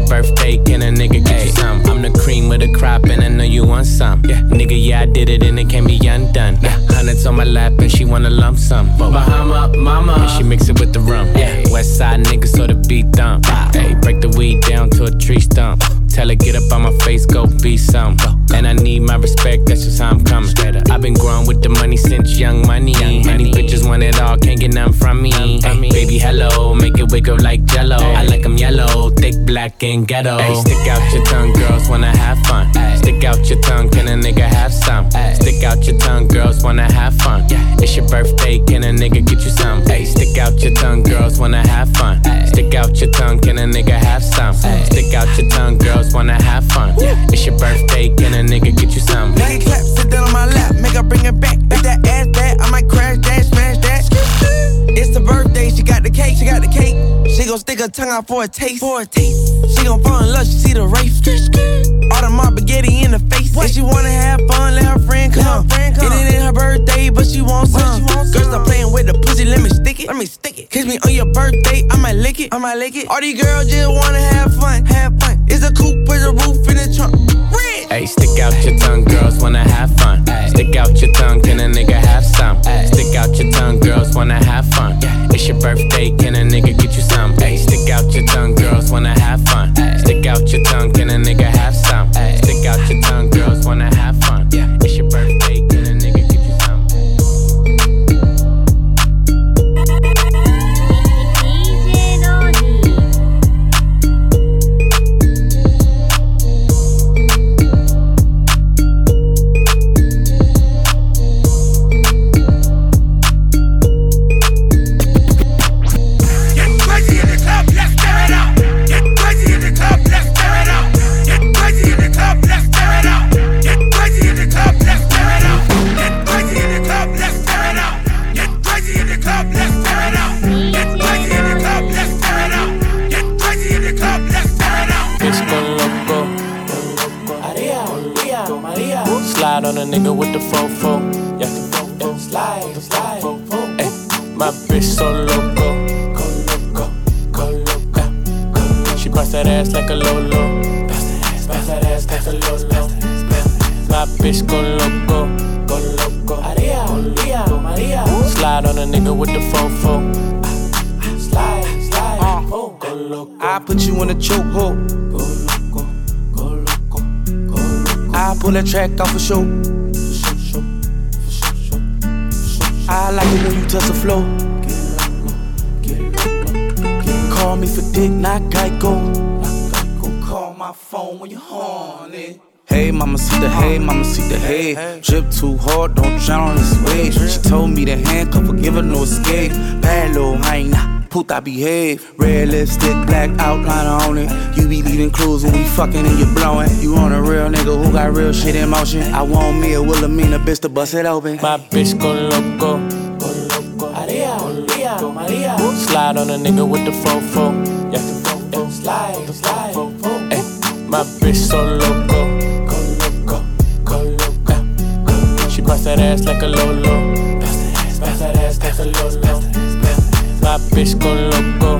birthday, can a nigga get you some? I'm the cream of the crop and I know you want some. Yeah, nigga, yeah, I did it and it can't be undone. Yeah, hundreds on my lap and she wanna lump sum. Bahama, mama, and she mix it with the rum. Yeah, west side niggas so the beat dump. Hey, break the weed down to a tree stump. Tell her get up on my face, go be some. And I need my respect, that's just how I'm coming. I've been growing with the money since young money. Many bitches want it all, can't get nothing from me. Hey, baby, hello, make it wiggle like jello. I like them yellow, thick, black, and ghetto. Hey, stick out your tongue, girls wanna have fun. Stick out your tongue, can a nigga have some? Stick out your tongue, girls wanna have fun. It's your birthday, can a nigga get you some? Hey, stick out your tongue, girls wanna have fun. Stick out your tongue, can a nigga have some? Stick out your tongue, girls wanna have fun. It's your birthday, can a nigga get you some? Nigga clap, sit down on my lap, make her bring it back. If that ass bad, I might crash that, smash that. It's the birthday, she got the cake, She gon' stick her tongue out for a taste, She gon' fall in love, she see the race. All the mob spaghetti in the face. If she wanna have fun, let her friend come. It ain't her birthday, but she wants some. Girl, stop playing with the pussy, let me stick it. Kiss me on your birthday, I might lick it. All these girls just wanna have fun. It's a coupe with a roof in the trunk. Hey, stick out your tongue, girls wanna have fun. Stick out your tongue, can a nigga have some? Stick out your tongue, girls wanna have fun. It's your birthday, can a nigga get you some? Hey, stick out your tongue, girls wanna have fun. Stick out your tongue, can a nigga have some? Stick out your tongue, girls wanna have fun. It's your birthday, can a nigga get you some? Slide on a nigga with the fofo, yeah. Slide, ay, my bitch so loco, go loco. She bounce that ass like a lolo, bounce that ass like a lolo. My bitch go loco, Maria. Slide on a nigga with the fofo, slide, go loco. I put you in a chokehold. I pull that track off for show. I like it when you touch the floor. Call me for dick, not Geico. Call my phone when you're horny. Hey, mamacita, hey. Drip too hard, don't drown on this wave. She told me to handcuff her, give her no escape. Bad little hyena. Puta behave, red lipstick, black outliner on it. You be leaving clues when we fucking and you blowing. You on a real nigga who got real shit in motion. I want me a Wilhelmina bitch to bust it open. My bitch go loco, Maria. Slide on a nigga with the fofo, yeah. Slide, ay, my bitch so loco, go loco. She bounce that ass like a lolo, bounce that ass like a lolo. My bitch go loco,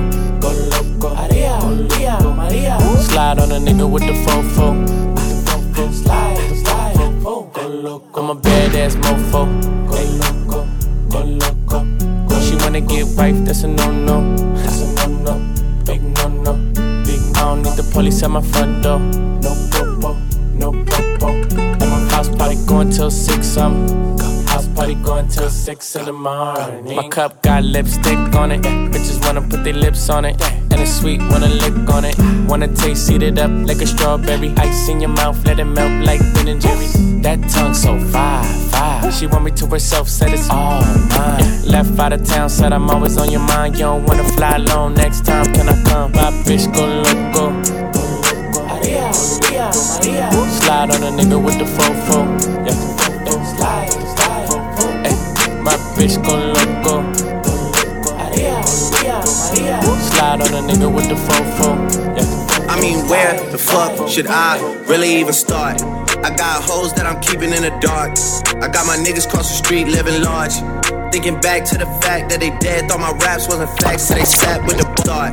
Maria. Slide on a nigga with the fofo, slide, go loco. I'm a badass mofo, go loco. When she wanna get wife, that's a no-no, big no-no. I don't need the police at my front door, no popo. And my house party going till 6 House party going till 6 in the morning. My cup got lipstick on it. Bitches wanna put their lips on it. And it's sweet, wanna lick on it. Wanna taste, eat it up like a strawberry. Ice in your mouth, let it melt like Ben and Jerry's. That tongue so fire. She want me to herself, said it's all mine. Left out of town, said I'm always on your mind. You don't wanna fly alone, next time can I come? My bitch go loco, Maria. Slide on a nigga with the fofo, yeah. Slide. My bitch go loco, Maria. Slide on a nigga with the fofo, yeah. I mean, where the fuck should I really even start? I got hoes that I'm keeping in the dark. I got my niggas cross the street living large. Thinking back to the fact that they dead, thought my raps wasn't facts, so they sat with the start.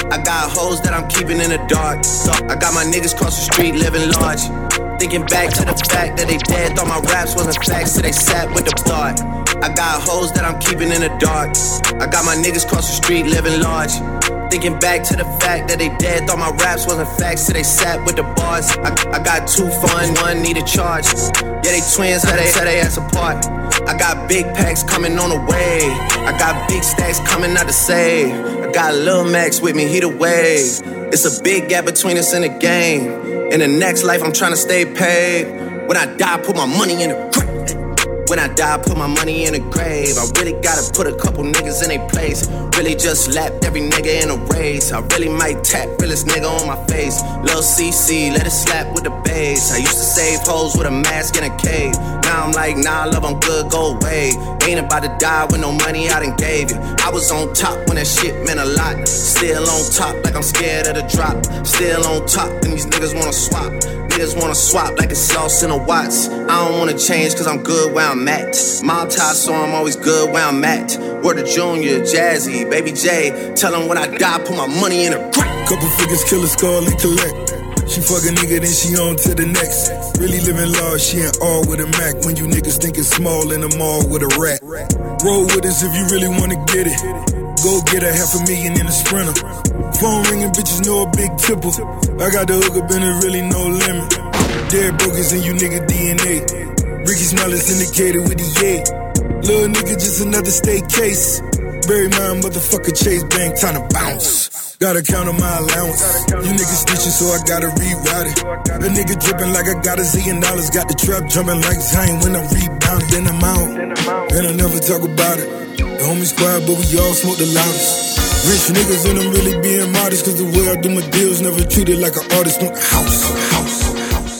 I got hoes that I'm keeping in the dark. I got my niggas cross the street living large. Thinking back to the fact that they dead, thought my raps wasn't facts, so they sat with the thought. I got hoes that I'm keeping in the dark. I got my niggas cross the street living large. Thinking back to the fact that they dead, thought my raps wasn't facts, so they sat with the bars. I got 2 fun, 1 need a charge. Yeah, they twins, how they ass apart. I got big packs coming on the way. I got big stacks coming out to save. I got Lil Max with me, he the wave. It's a big gap between us in the game. In the next life, I'm tryna stay paid. When I die, put my money in the grave. When I die, put my money in the grave. I really gotta put a couple niggas in their place. Really just lapped every nigga in a race. I really might tap realest nigga on my face. Lil CC, let it slap with the bass. I used to save hoes with a mask in a cave. Now I'm like, nah, love, I'm good, go away. Ain't about to die with no money I done gave you. I was on top when that shit meant a lot. Still on top like I'm scared of the drop. Still on top and these niggas wanna swap. Niggas wanna swap like it's sauce in a Watts. I don't wanna change cause I'm good where I'm at. Mob tie, so I'm always good where I'm at. Word to Junior, Jazzy, Baby J. Tell them when I die, put my money in a crack. Couple figures, kill a skull and collect. She fuck a nigga, then she on to the next. Really living large, she ain't all with a Mac. When you niggas think it's small in the mall with a rat. Roll with us if you really wanna get it. Go get a $500,000 in a Sprinter. Phone ringing, bitches know a big tipple. I got the hook up and it really no limit. Dead brokers in you nigga DNA. Ricky Smile is indicated with the yay. Little nigga just another state case. Bury my motherfucker Chase Bank, time to bounce. Gotta count on my allowance. You niggas snitching, so I gotta reroute it. A nigga dripping like I got $1 zillion. Got the trap jumping like Zion when I rebound. Then I'm out, and I never talk about it. The homies quiet, but we all smoke the loudest. Rich niggas and I'm really being modest. Cause the way I do my deals never treated like an artist. Want a house.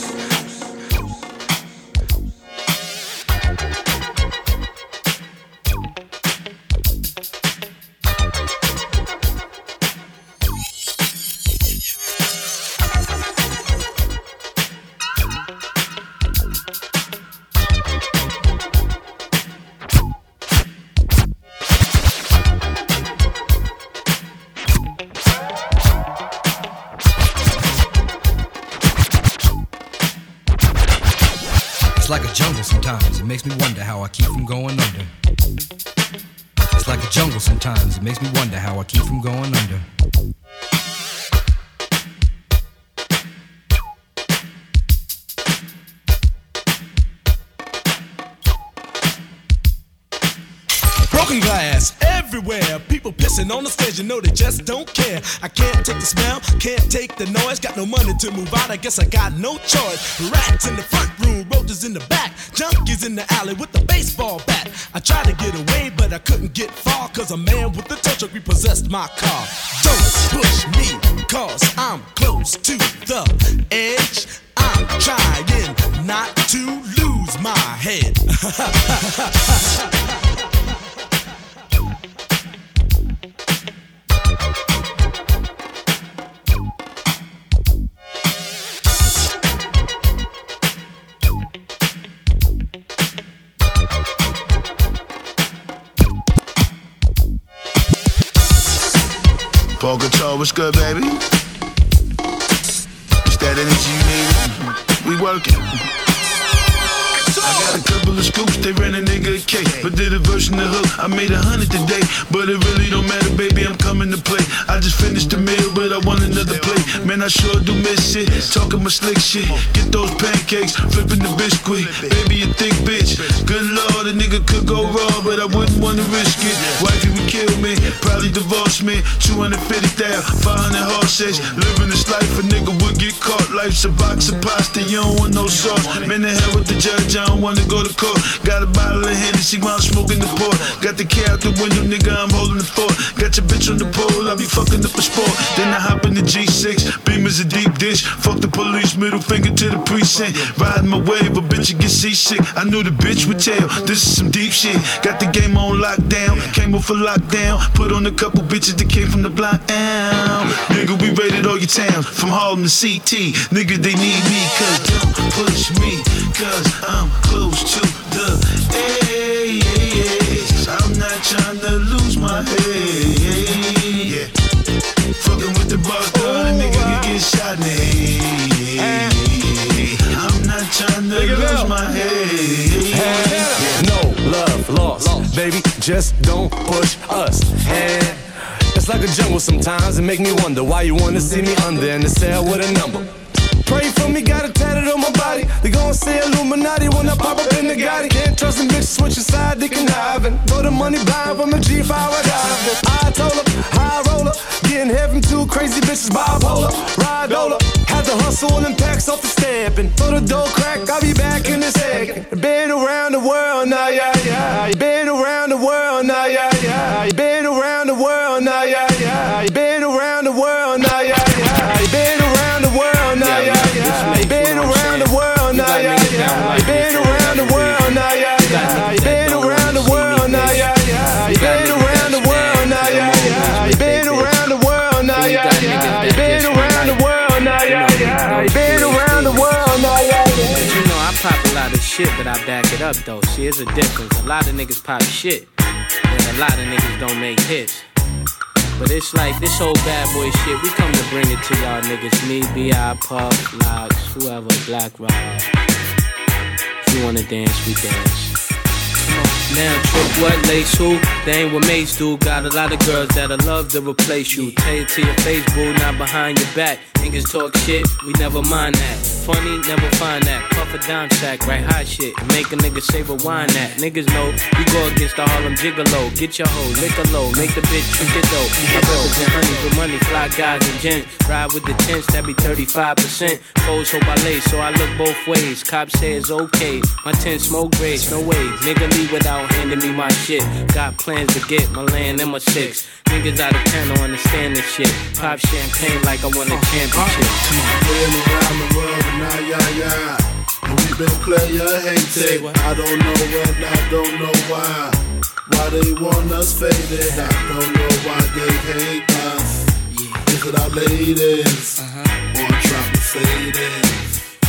Like a jungle sometimes, it makes me wonder how I keep from going under. It's like a jungle sometimes, it makes me wonder how I keep from going under. Broken glass everywhere, people pissing on the stage, you know they just don't care. I can't take the smell, can't take the noise, got no money to move out, I guess I got no choice. Rats in the front room, roaches in the back, junkies in the alley with a baseball bat. I tried to get away, but I couldn't get far, cause a man with a tow truck repossessed my car. Don't push me, cause I'm close to the edge. I'm trying not to lose my head. Paul Guitar, what's good, baby? It's that energy you need. We working. I got a couple of scoops, they ran a nigga a cake. But did a version of hook, I made 100 today. But it really don't matter, baby, I'm coming to play. I just finished the meal, but I want another plate. Man, I sure do miss it, talking my slick shit. Get those pancakes, flipping the biscuit. Baby, a thick bitch. Good lord, a nigga could go raw, but I wouldn't wanna risk it. Wifey would kill me, probably divorce me. 250,000, 500 horses. Living this life, a nigga would get caught. Life's a box of pasta, you don't want no sauce. Man, the hell with the judge, I don't wanna go to court. Got a bottle of Hennessy while I'm smoking the port. Got the key out the window, nigga, I'm holding the fort. Got your bitch on the pole, I be fucking up a sport. Then I hop in the G6, beam is a deep dish. Fuck the police, middle finger to the precinct. Riding my wave, a bitch, you get seasick. I knew the bitch would tell, this is some deep shit. Got the game on lockdown, came up for lockdown. Put on a couple bitches that came from the block. Nigga, we raided all your towns, from Harlem to CT. Nigga, they need me, cause don't push me, cause I'm close to the edge. I'm not trying to lose my head. Fucking with the boss dog, a nigga can get shot in the head. I'm not trying to lose my head. No love lost, baby, just don't push us. And it's like a jungle sometimes, it make me wonder why you wanna see me under in the cell with a number. Pray for me, got it tatted on my body. They gon' say Illuminati when I pop up in the Gotti. Can't trust them bitches, switching side, they conniving. Throw the money blind from a G5 I dive. I told her, high roller, getting head from two crazy bitches bipolar. Ridola, had to hustle and packs off the step. And throw the door crack, I'll be back in a second. Been around the world now, yeah, yeah. Been around the world now, yeah, yeah. Been around the world now, yeah, yeah. Been around the world now, yeah, yeah. Been around the world now, yeah. Been around the world now, yeah, yeah. Been around the world now, yeah, yeah. Been around the world now, yeah, yeah. Been around the world now, yeah, yeah. Been around the world now, yeah, yeah. Been around the world now, yeah, yeah. Been around the world now, yeah, yeah. But you know I pop a lot of shit, but I back it up though. See, it's a difference. A lot of niggas pop shit, and a lot of niggas don't make hits. But it's like this whole bad boy shit, we come to bring it to y'all niggas. Me, B.I., Puff, Lox, whoever, Black Rock. If you wanna dance, we dance. Now trick what, lace who? They ain't what mates do. Got a lot of girls that'll love to replace you. Tell it to your face, boo, not behind your back. Niggas talk shit, we never mind that. Funny, never find that. Puff a dime sack, write hot shit, and make a nigga say rewind that. Niggas know we go against the Harlem Gigolo. Get your hoe, lick a low, make the bitch trick it though. I represent honey for money, fly guys and gents. Ride with the tents, that be 35%. Foes hope I lay, so I look both ways. Cops say it's okay, my tent smoke grades, no way. Nigga leave without handing me my shit. Got plans to get my land and my six. Niggas out of town don't understand this shit. Pop champagne like I won a championship. Come on. Been around the world and now, yeah, yeah. And we been player hated. I don't know when, I don't know why. Why they want us faded. I don't know why they hate us. Is it our ladies? Or try to say this?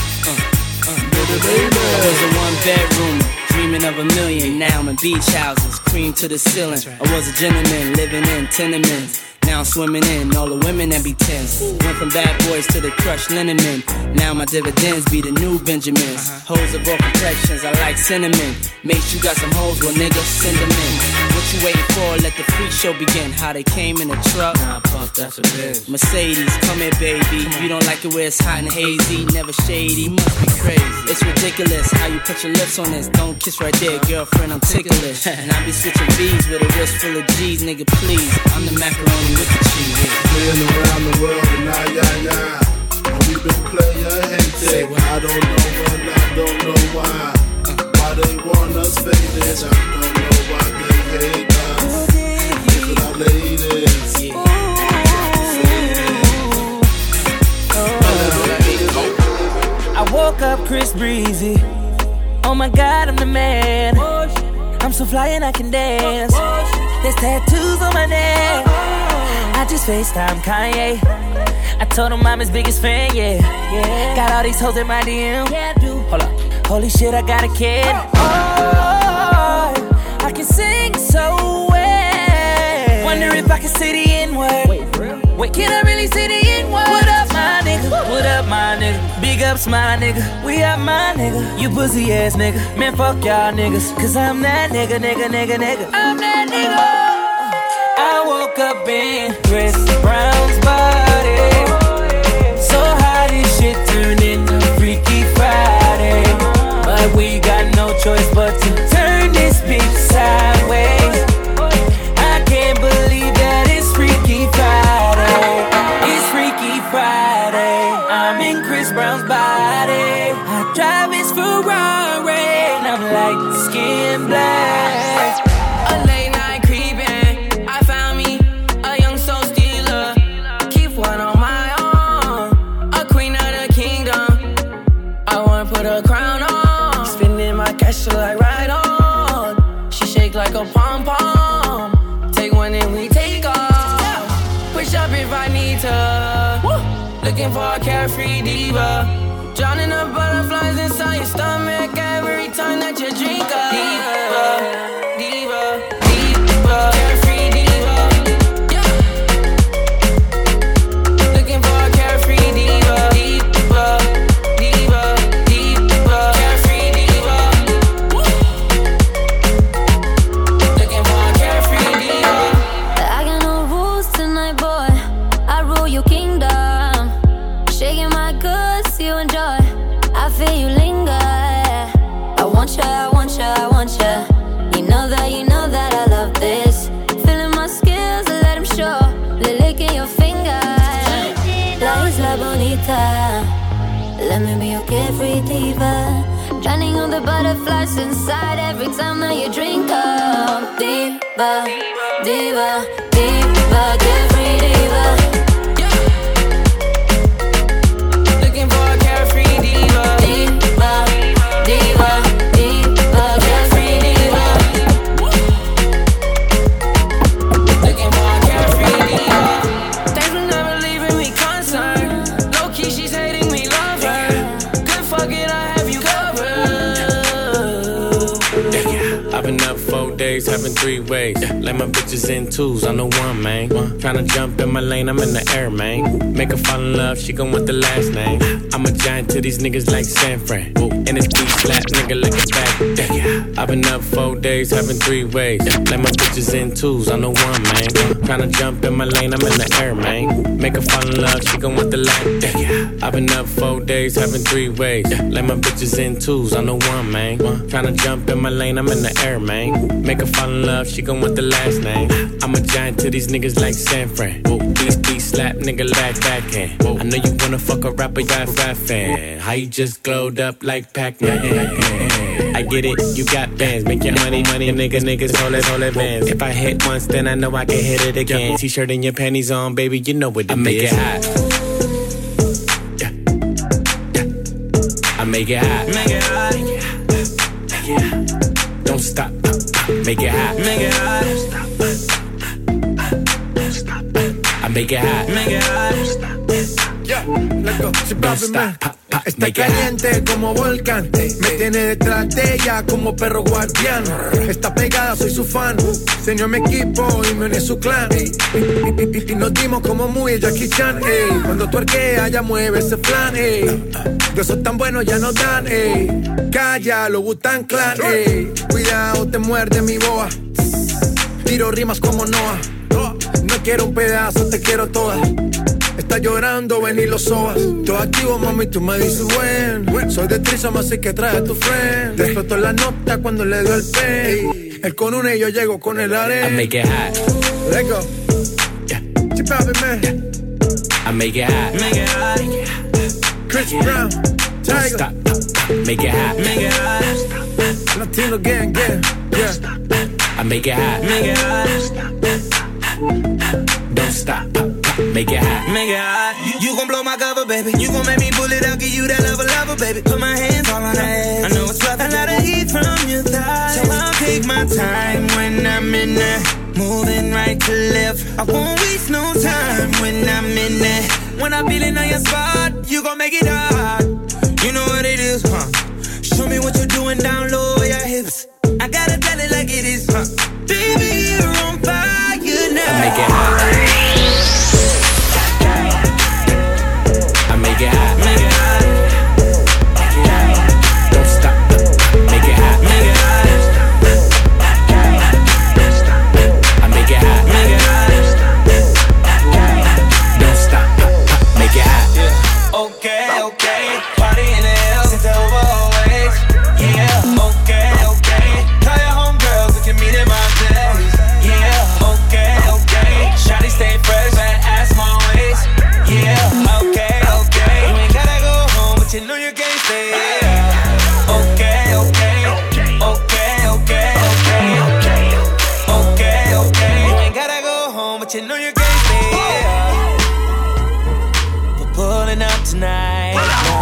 I was a one bedroom, dreaming of a million. Now I'm in beach houses, cream to the ceiling. I was a gentleman living in tenements. Now I'm swimming in all the women that be tense. Went from bad boys to the crushed linen men. Now my dividends be the new Benjamins. Hoes of all complexions, I like cinnamon. Make sure you got some hoes, well nigga, send them in. What you waiting for? Let the freak show begin. How they came in a truck. Nah, Puff, that's a bitch. Mercedes, come here, baby. You don't like it where it's hot and hazy, never shady. Must be crazy. It's ridiculous how you put your lips on this. Don't kiss right there, girlfriend, I'm ticklish. And I be switching V's with a wrist full of G's, nigga, please. I'm the macaroni with the cheese. Been around the world and now, yeah, yeah. And we been player hated. I don't know when, I don't know why. Why they want us faded. I don't know why they hate us. Is it our ladies? I woke up Chris Breezy. Oh my God, I'm the man. I'm so fly and I can dance. There's tattoos on my neck. I just FaceTime Kanye. I told him I'm his biggest fan, yeah. Got all these hoes in my DM. Hold up. Holy shit, I got a kid. Oh, I can sing so well. Wonder if I can say the N-word. Wait, can I really say the N-word? What up, my nigga? What up, my nigga? Big ups, my nigga. We up, my nigga. You pussy ass nigga. Man, fuck y'all niggas. Cause I'm that nigga. I'm that nigga. I woke up in Chris Brown's body. So how this shit turned into Freaky Friday. But we got no choice but to turn this bitch sideways. I can't believe that it's Freaky Friday. It's Freaky Friday. I'm in Chris Brown's body. I drive his Ferrari and I'm like skin black. A late night creeping, I found me a young soul stealer. Keep one on my arm, a queen of the kingdom. I wanna put a crown on, spending my cash till I ride on. She shake like a pom-pom. Take one and we take off. Push up if I need to. Looking for a carefree diva. Drowning the butterflies inside your stomach every time that you drink a diva, carefree diva, yeah. Let me be your carefree diva. Drowning all the butterflies inside every time that you drink up. Diva, diva, diva, carefree diva. Looking for a carefree diva. Diva, diva, diva, carefree diva. Looking for a carefree diva. Thanks for never leaving me concerned. Low key, she's hating me, love her. Good fuck it, I have you covered. I've been up 4 days, having 3 ways. Like my bitches in twos, I know one, man. Tryna jump in my lane, I'm in the air, man. Make her fall in love, she gon' want the last name. I'm a giant to these niggas like San Fran. And it's beat slap, nigga, like a back. I've been up 4 days, having 3 ways. Like my bitches in twos, I know one, man. Tryna jump in my lane, I'm in the air, man. Make her fall in love, she gon' want the last. I've been up 4 days, having 3 ways. Like my bitches in twos, I know one, man. Tryna jump in my lane, I'm in the air, man. Make her fall in love, she gon' want the last name. I'm a giant to these niggas like San Fran. Beat slap, nigga, backhand. I know you wanna fuck a rapper, you rap fan. How you just glowed up like Pac-Man? I get it, you got bands, make your money, niggas, hold it, bands. If I hit once, then I know I can hit it again. T-shirt and your panties on, baby, you know what it is. I make it hot. I make it hot. Make it hot. Don't stop. Make it hot. Make it hot. I make it hot. Make it hot. Yeah, let's go. Don't stop. Está caliente como volcán. Me tiene detrás de ella como perro guardián. Está pegada, soy su fan. Señor mi equipo y me une su clan. Y nos dimos como muy Jackie Chan. Cuando tuerquea ya mueve ese flan. De esos tan buenos ya no dan. Calla, lo Wu-Tang Clan. Cuidado, te muerde mi boa. Tiro rimas como Noah. No quiero un pedazo, te quiero toda. Está llorando, ven y lo sobas. Todo activo, mami, tú me dices buen. Soy de Trisam, así que trae a tu friend. Despertó la nota cuando le dio el pen. Él con una y yo llego con el arena. I make it hot. Let's go. Yeah. Chip out, man. Yeah. I make it hot. Make it hot. Chris Brown. Don't stop. Make it hot. Make it hot. Latino gang. Yeah. I make it hot. Make it hot. Don't stop. Make it hot. Make it hot. You gon' blow my cover, baby. You gon' make me pull it out, give you that lover, baby. Put my hands all on that ass. I know it's rough. A lot of heat from your thighs, so I'll take my time when I'm in there. Moving right to left. I won't waste no time when I'm in there. When I'm feeling on your spot, you gon' make it hot. You know what it is, huh? Show me what you're doing down low with your hips. I gotta tell it like it is, huh? Baby, you're on fire now. I make it hot. Make it hot. Make it hot. Don't stop. Make it hot. Make it hot. I make it hot. Make it hot. Don't stop. Make it hot. Okay. Party in the hills, it's over always. Yeah. Okay. Tell your homegirls we can meet in my place. Yeah. Okay. Shawty stay fresh, fat ass my waist. Yeah. Okay. You know you can't stay. Okay. You ain't gotta go home, but you know you can't stay. We're pulling up tonight.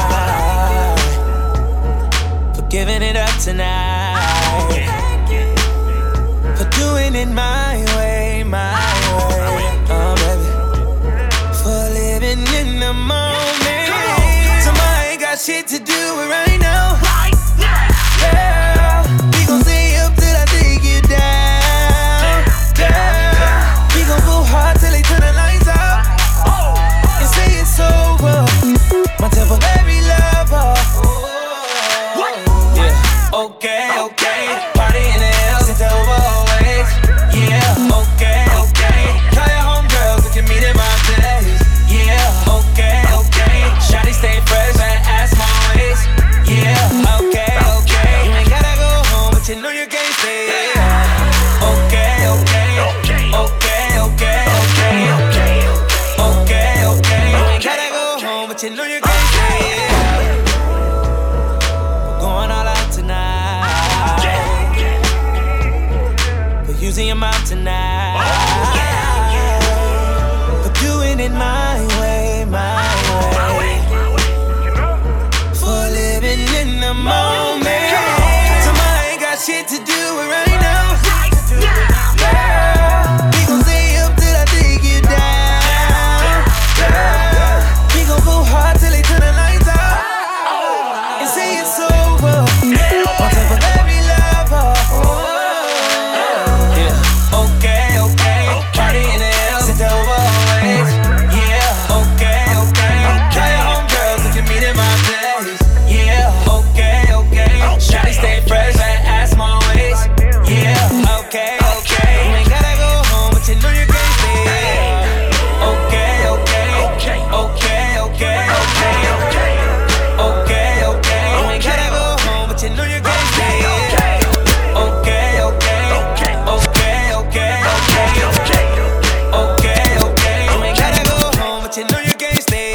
For giving it up tonight. For doing it my way. Oh, baby. For living in the moment. Shit to do it right now. Yeah. We gon' stay up till I take you down. Yeah. We gon' go hard till they turn the lights out. And say it's over. My temporary lover. Yeah. Okay. Party in the hills, it's over always. Yeah. Okay. Tell your homegirls we can meet in my place. Yeah. Okay. Shawty stay fresh. Yeah, okay. You ain't gotta go home, but you know you can't stay. Okay. You ain't gotta go home, but you know you can't stay. in your mouth tonight. But doing it my way, my way. For living in the moment. Tomorrow ain't got shit to do with right now. We gon' stay up till I take you down. We gon' go hard till they turn the lights out and say it's over. On top of every lover. Yeah. Okay, party in the hills, it's over always. Yeah. Okay, try your homegirls if you meet in my place. Yeah. Okay, shawty stay fresh, I ask my ways. Yeah. Okay, you ain't gotta go home, but you know you can't stay. Okay, you ain't gotta go home, but you know you can't stay. Okay, you ain't gotta go home, but you know you can't stay.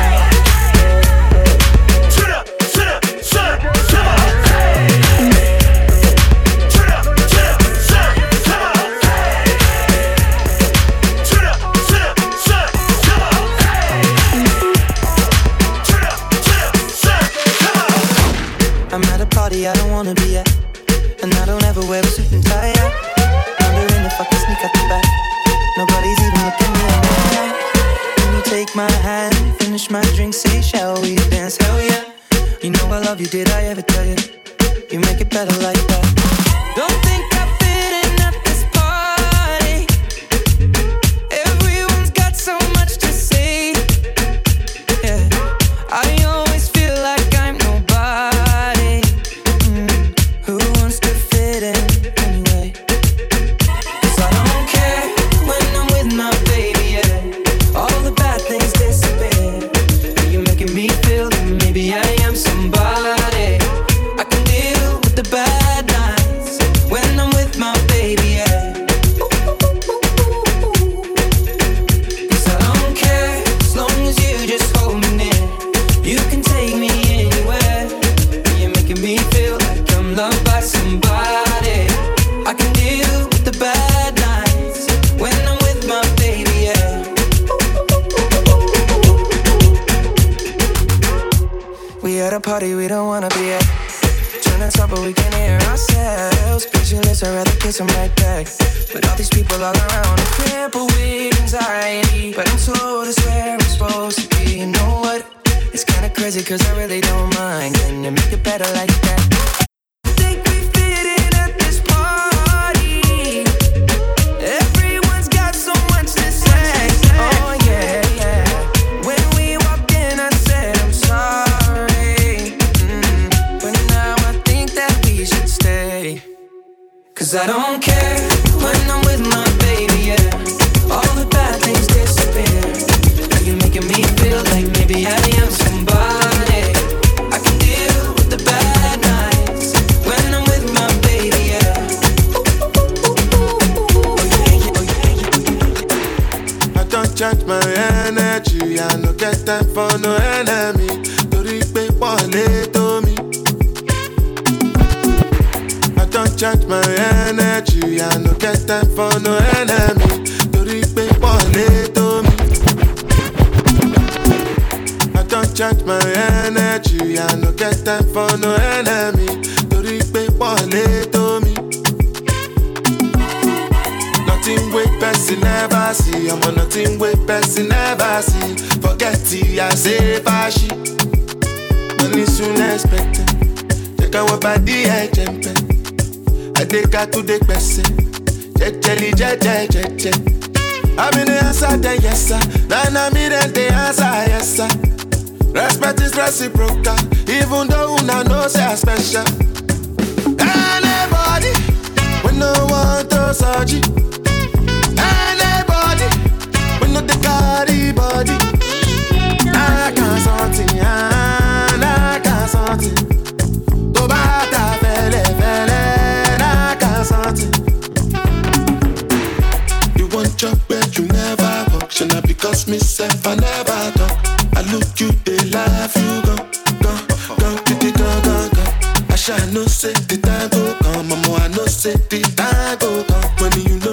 I'm at a party I don't wanna be at, and I don't ever wear a suit and tie. Wondering if I can sneak out the back. Nobody's even looking me in the eye. When you take my hand, finish my drink, say shall we dance? Hell yeah. You know I love you, did I ever tell you? You make it better like that. Don't think I fit in at this party. Everyone's got so much to say. Yeah, I always feel like I'm nobody. Who wants to fit in anyway? 'Cause I don't care when I'm with my baby, yeah. All the bad things disappear. You're making me feel that maybe I am somebody. I can deal with the bad nights when I'm with my baby, yeah. 'Cause I don't care as long as you just hold me near. You can take me anywhere. You're making me feel like I'm loved by somebody. I can deal with the bad nights when I'm with my baby, yeah. We at a party we don't wanna be at. Trying to talk but we can hear ourselves. Pictureless, I'd rather kiss them right back. But all these people all around are crippled with anxiety. But I'm told it's where I'm supposed to be. You know what? It's kinda crazy 'cause I really don't mind. Can you make it better like that? Think we fit in at this party. Everyone's got so much to say. Oh yeah. When we walked in I said I'm sorry. But now I think that we should stay. 'Cause I don't care when I'm with my baby, yeah. All the bad things disappear. You're making me feel like maybe I am somebody. I can deal with the bad nights when I'm with my baby, yeah. I don't charge my energy, I no get time for no enemy. Torí pé wọ́n lè tó mi. I don't charge my energy, I no get time for no enemy. Torí pé wọ́n lè tó mi. I don't charge my energy, I no get time for no enemy. Torí pé wọ́n lè tó mi. Nothing with person never see. I'm on nothing with person never see. Forget it, I say fashi. Money soon expected. Check out what body I jumping. I take out to the person. Jeje. I'm in the answer, then yes sir. Then I'm in the answer, yes sir. Respect is reciprocal, even though una know say I special. Anybody, we no want to surgery. Anybody, we no the carry body. I can't something, I can't something. To bata fele, I can't something. You want job where you never walk, should not because myself I never talk. I look you, they laugh, you go. I shall no say the time go come, mama, I no say the time go come. When you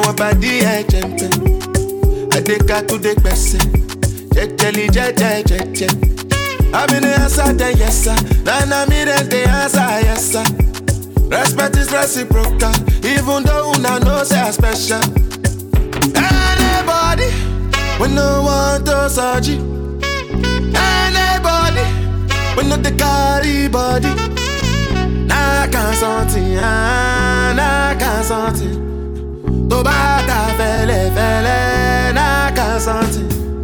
want body I jump. I take her to the person. Jelly, je. I'm in the answer, then yes sir. Nana me then the answer, yes sir. Respect is reciprocal, even though una know say I special. Anybody, when no one to search it. Anybody, when not the carry body. Na can't sorti, na can't sorti. To bata fele, na can't sorti.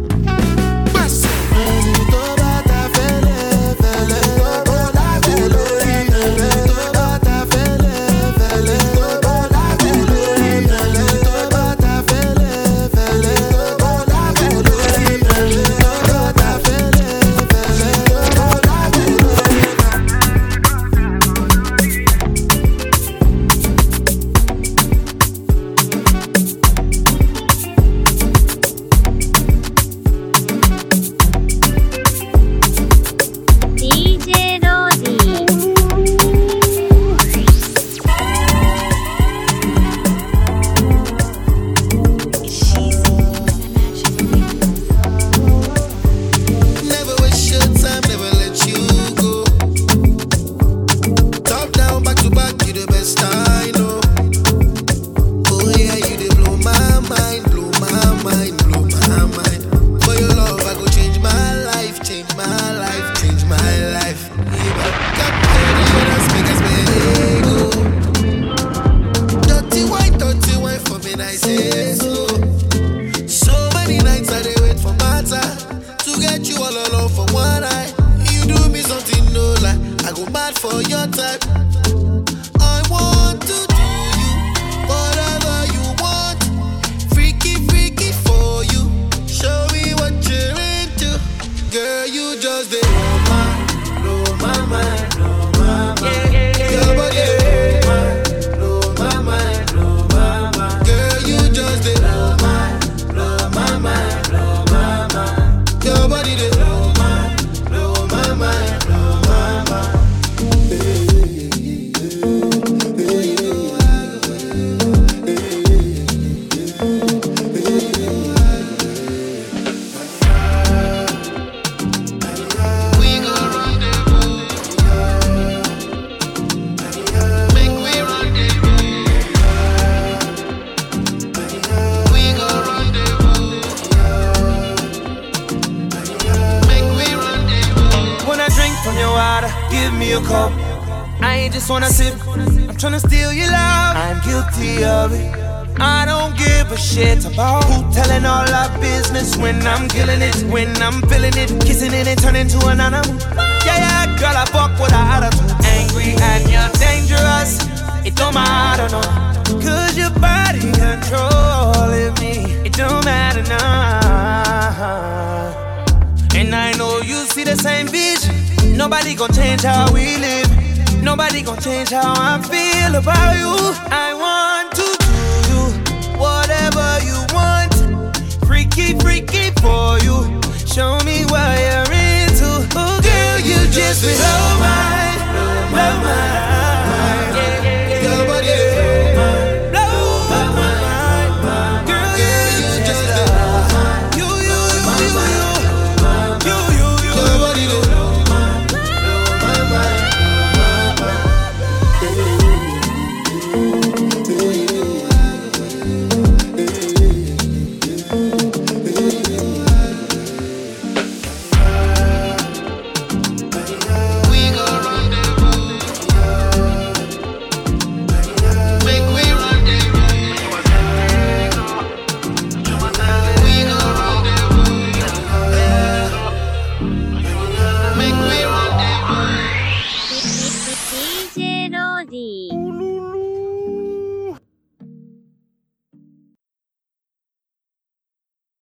Nobody gon' change how we live. Nobody gon' change how I feel about you. I want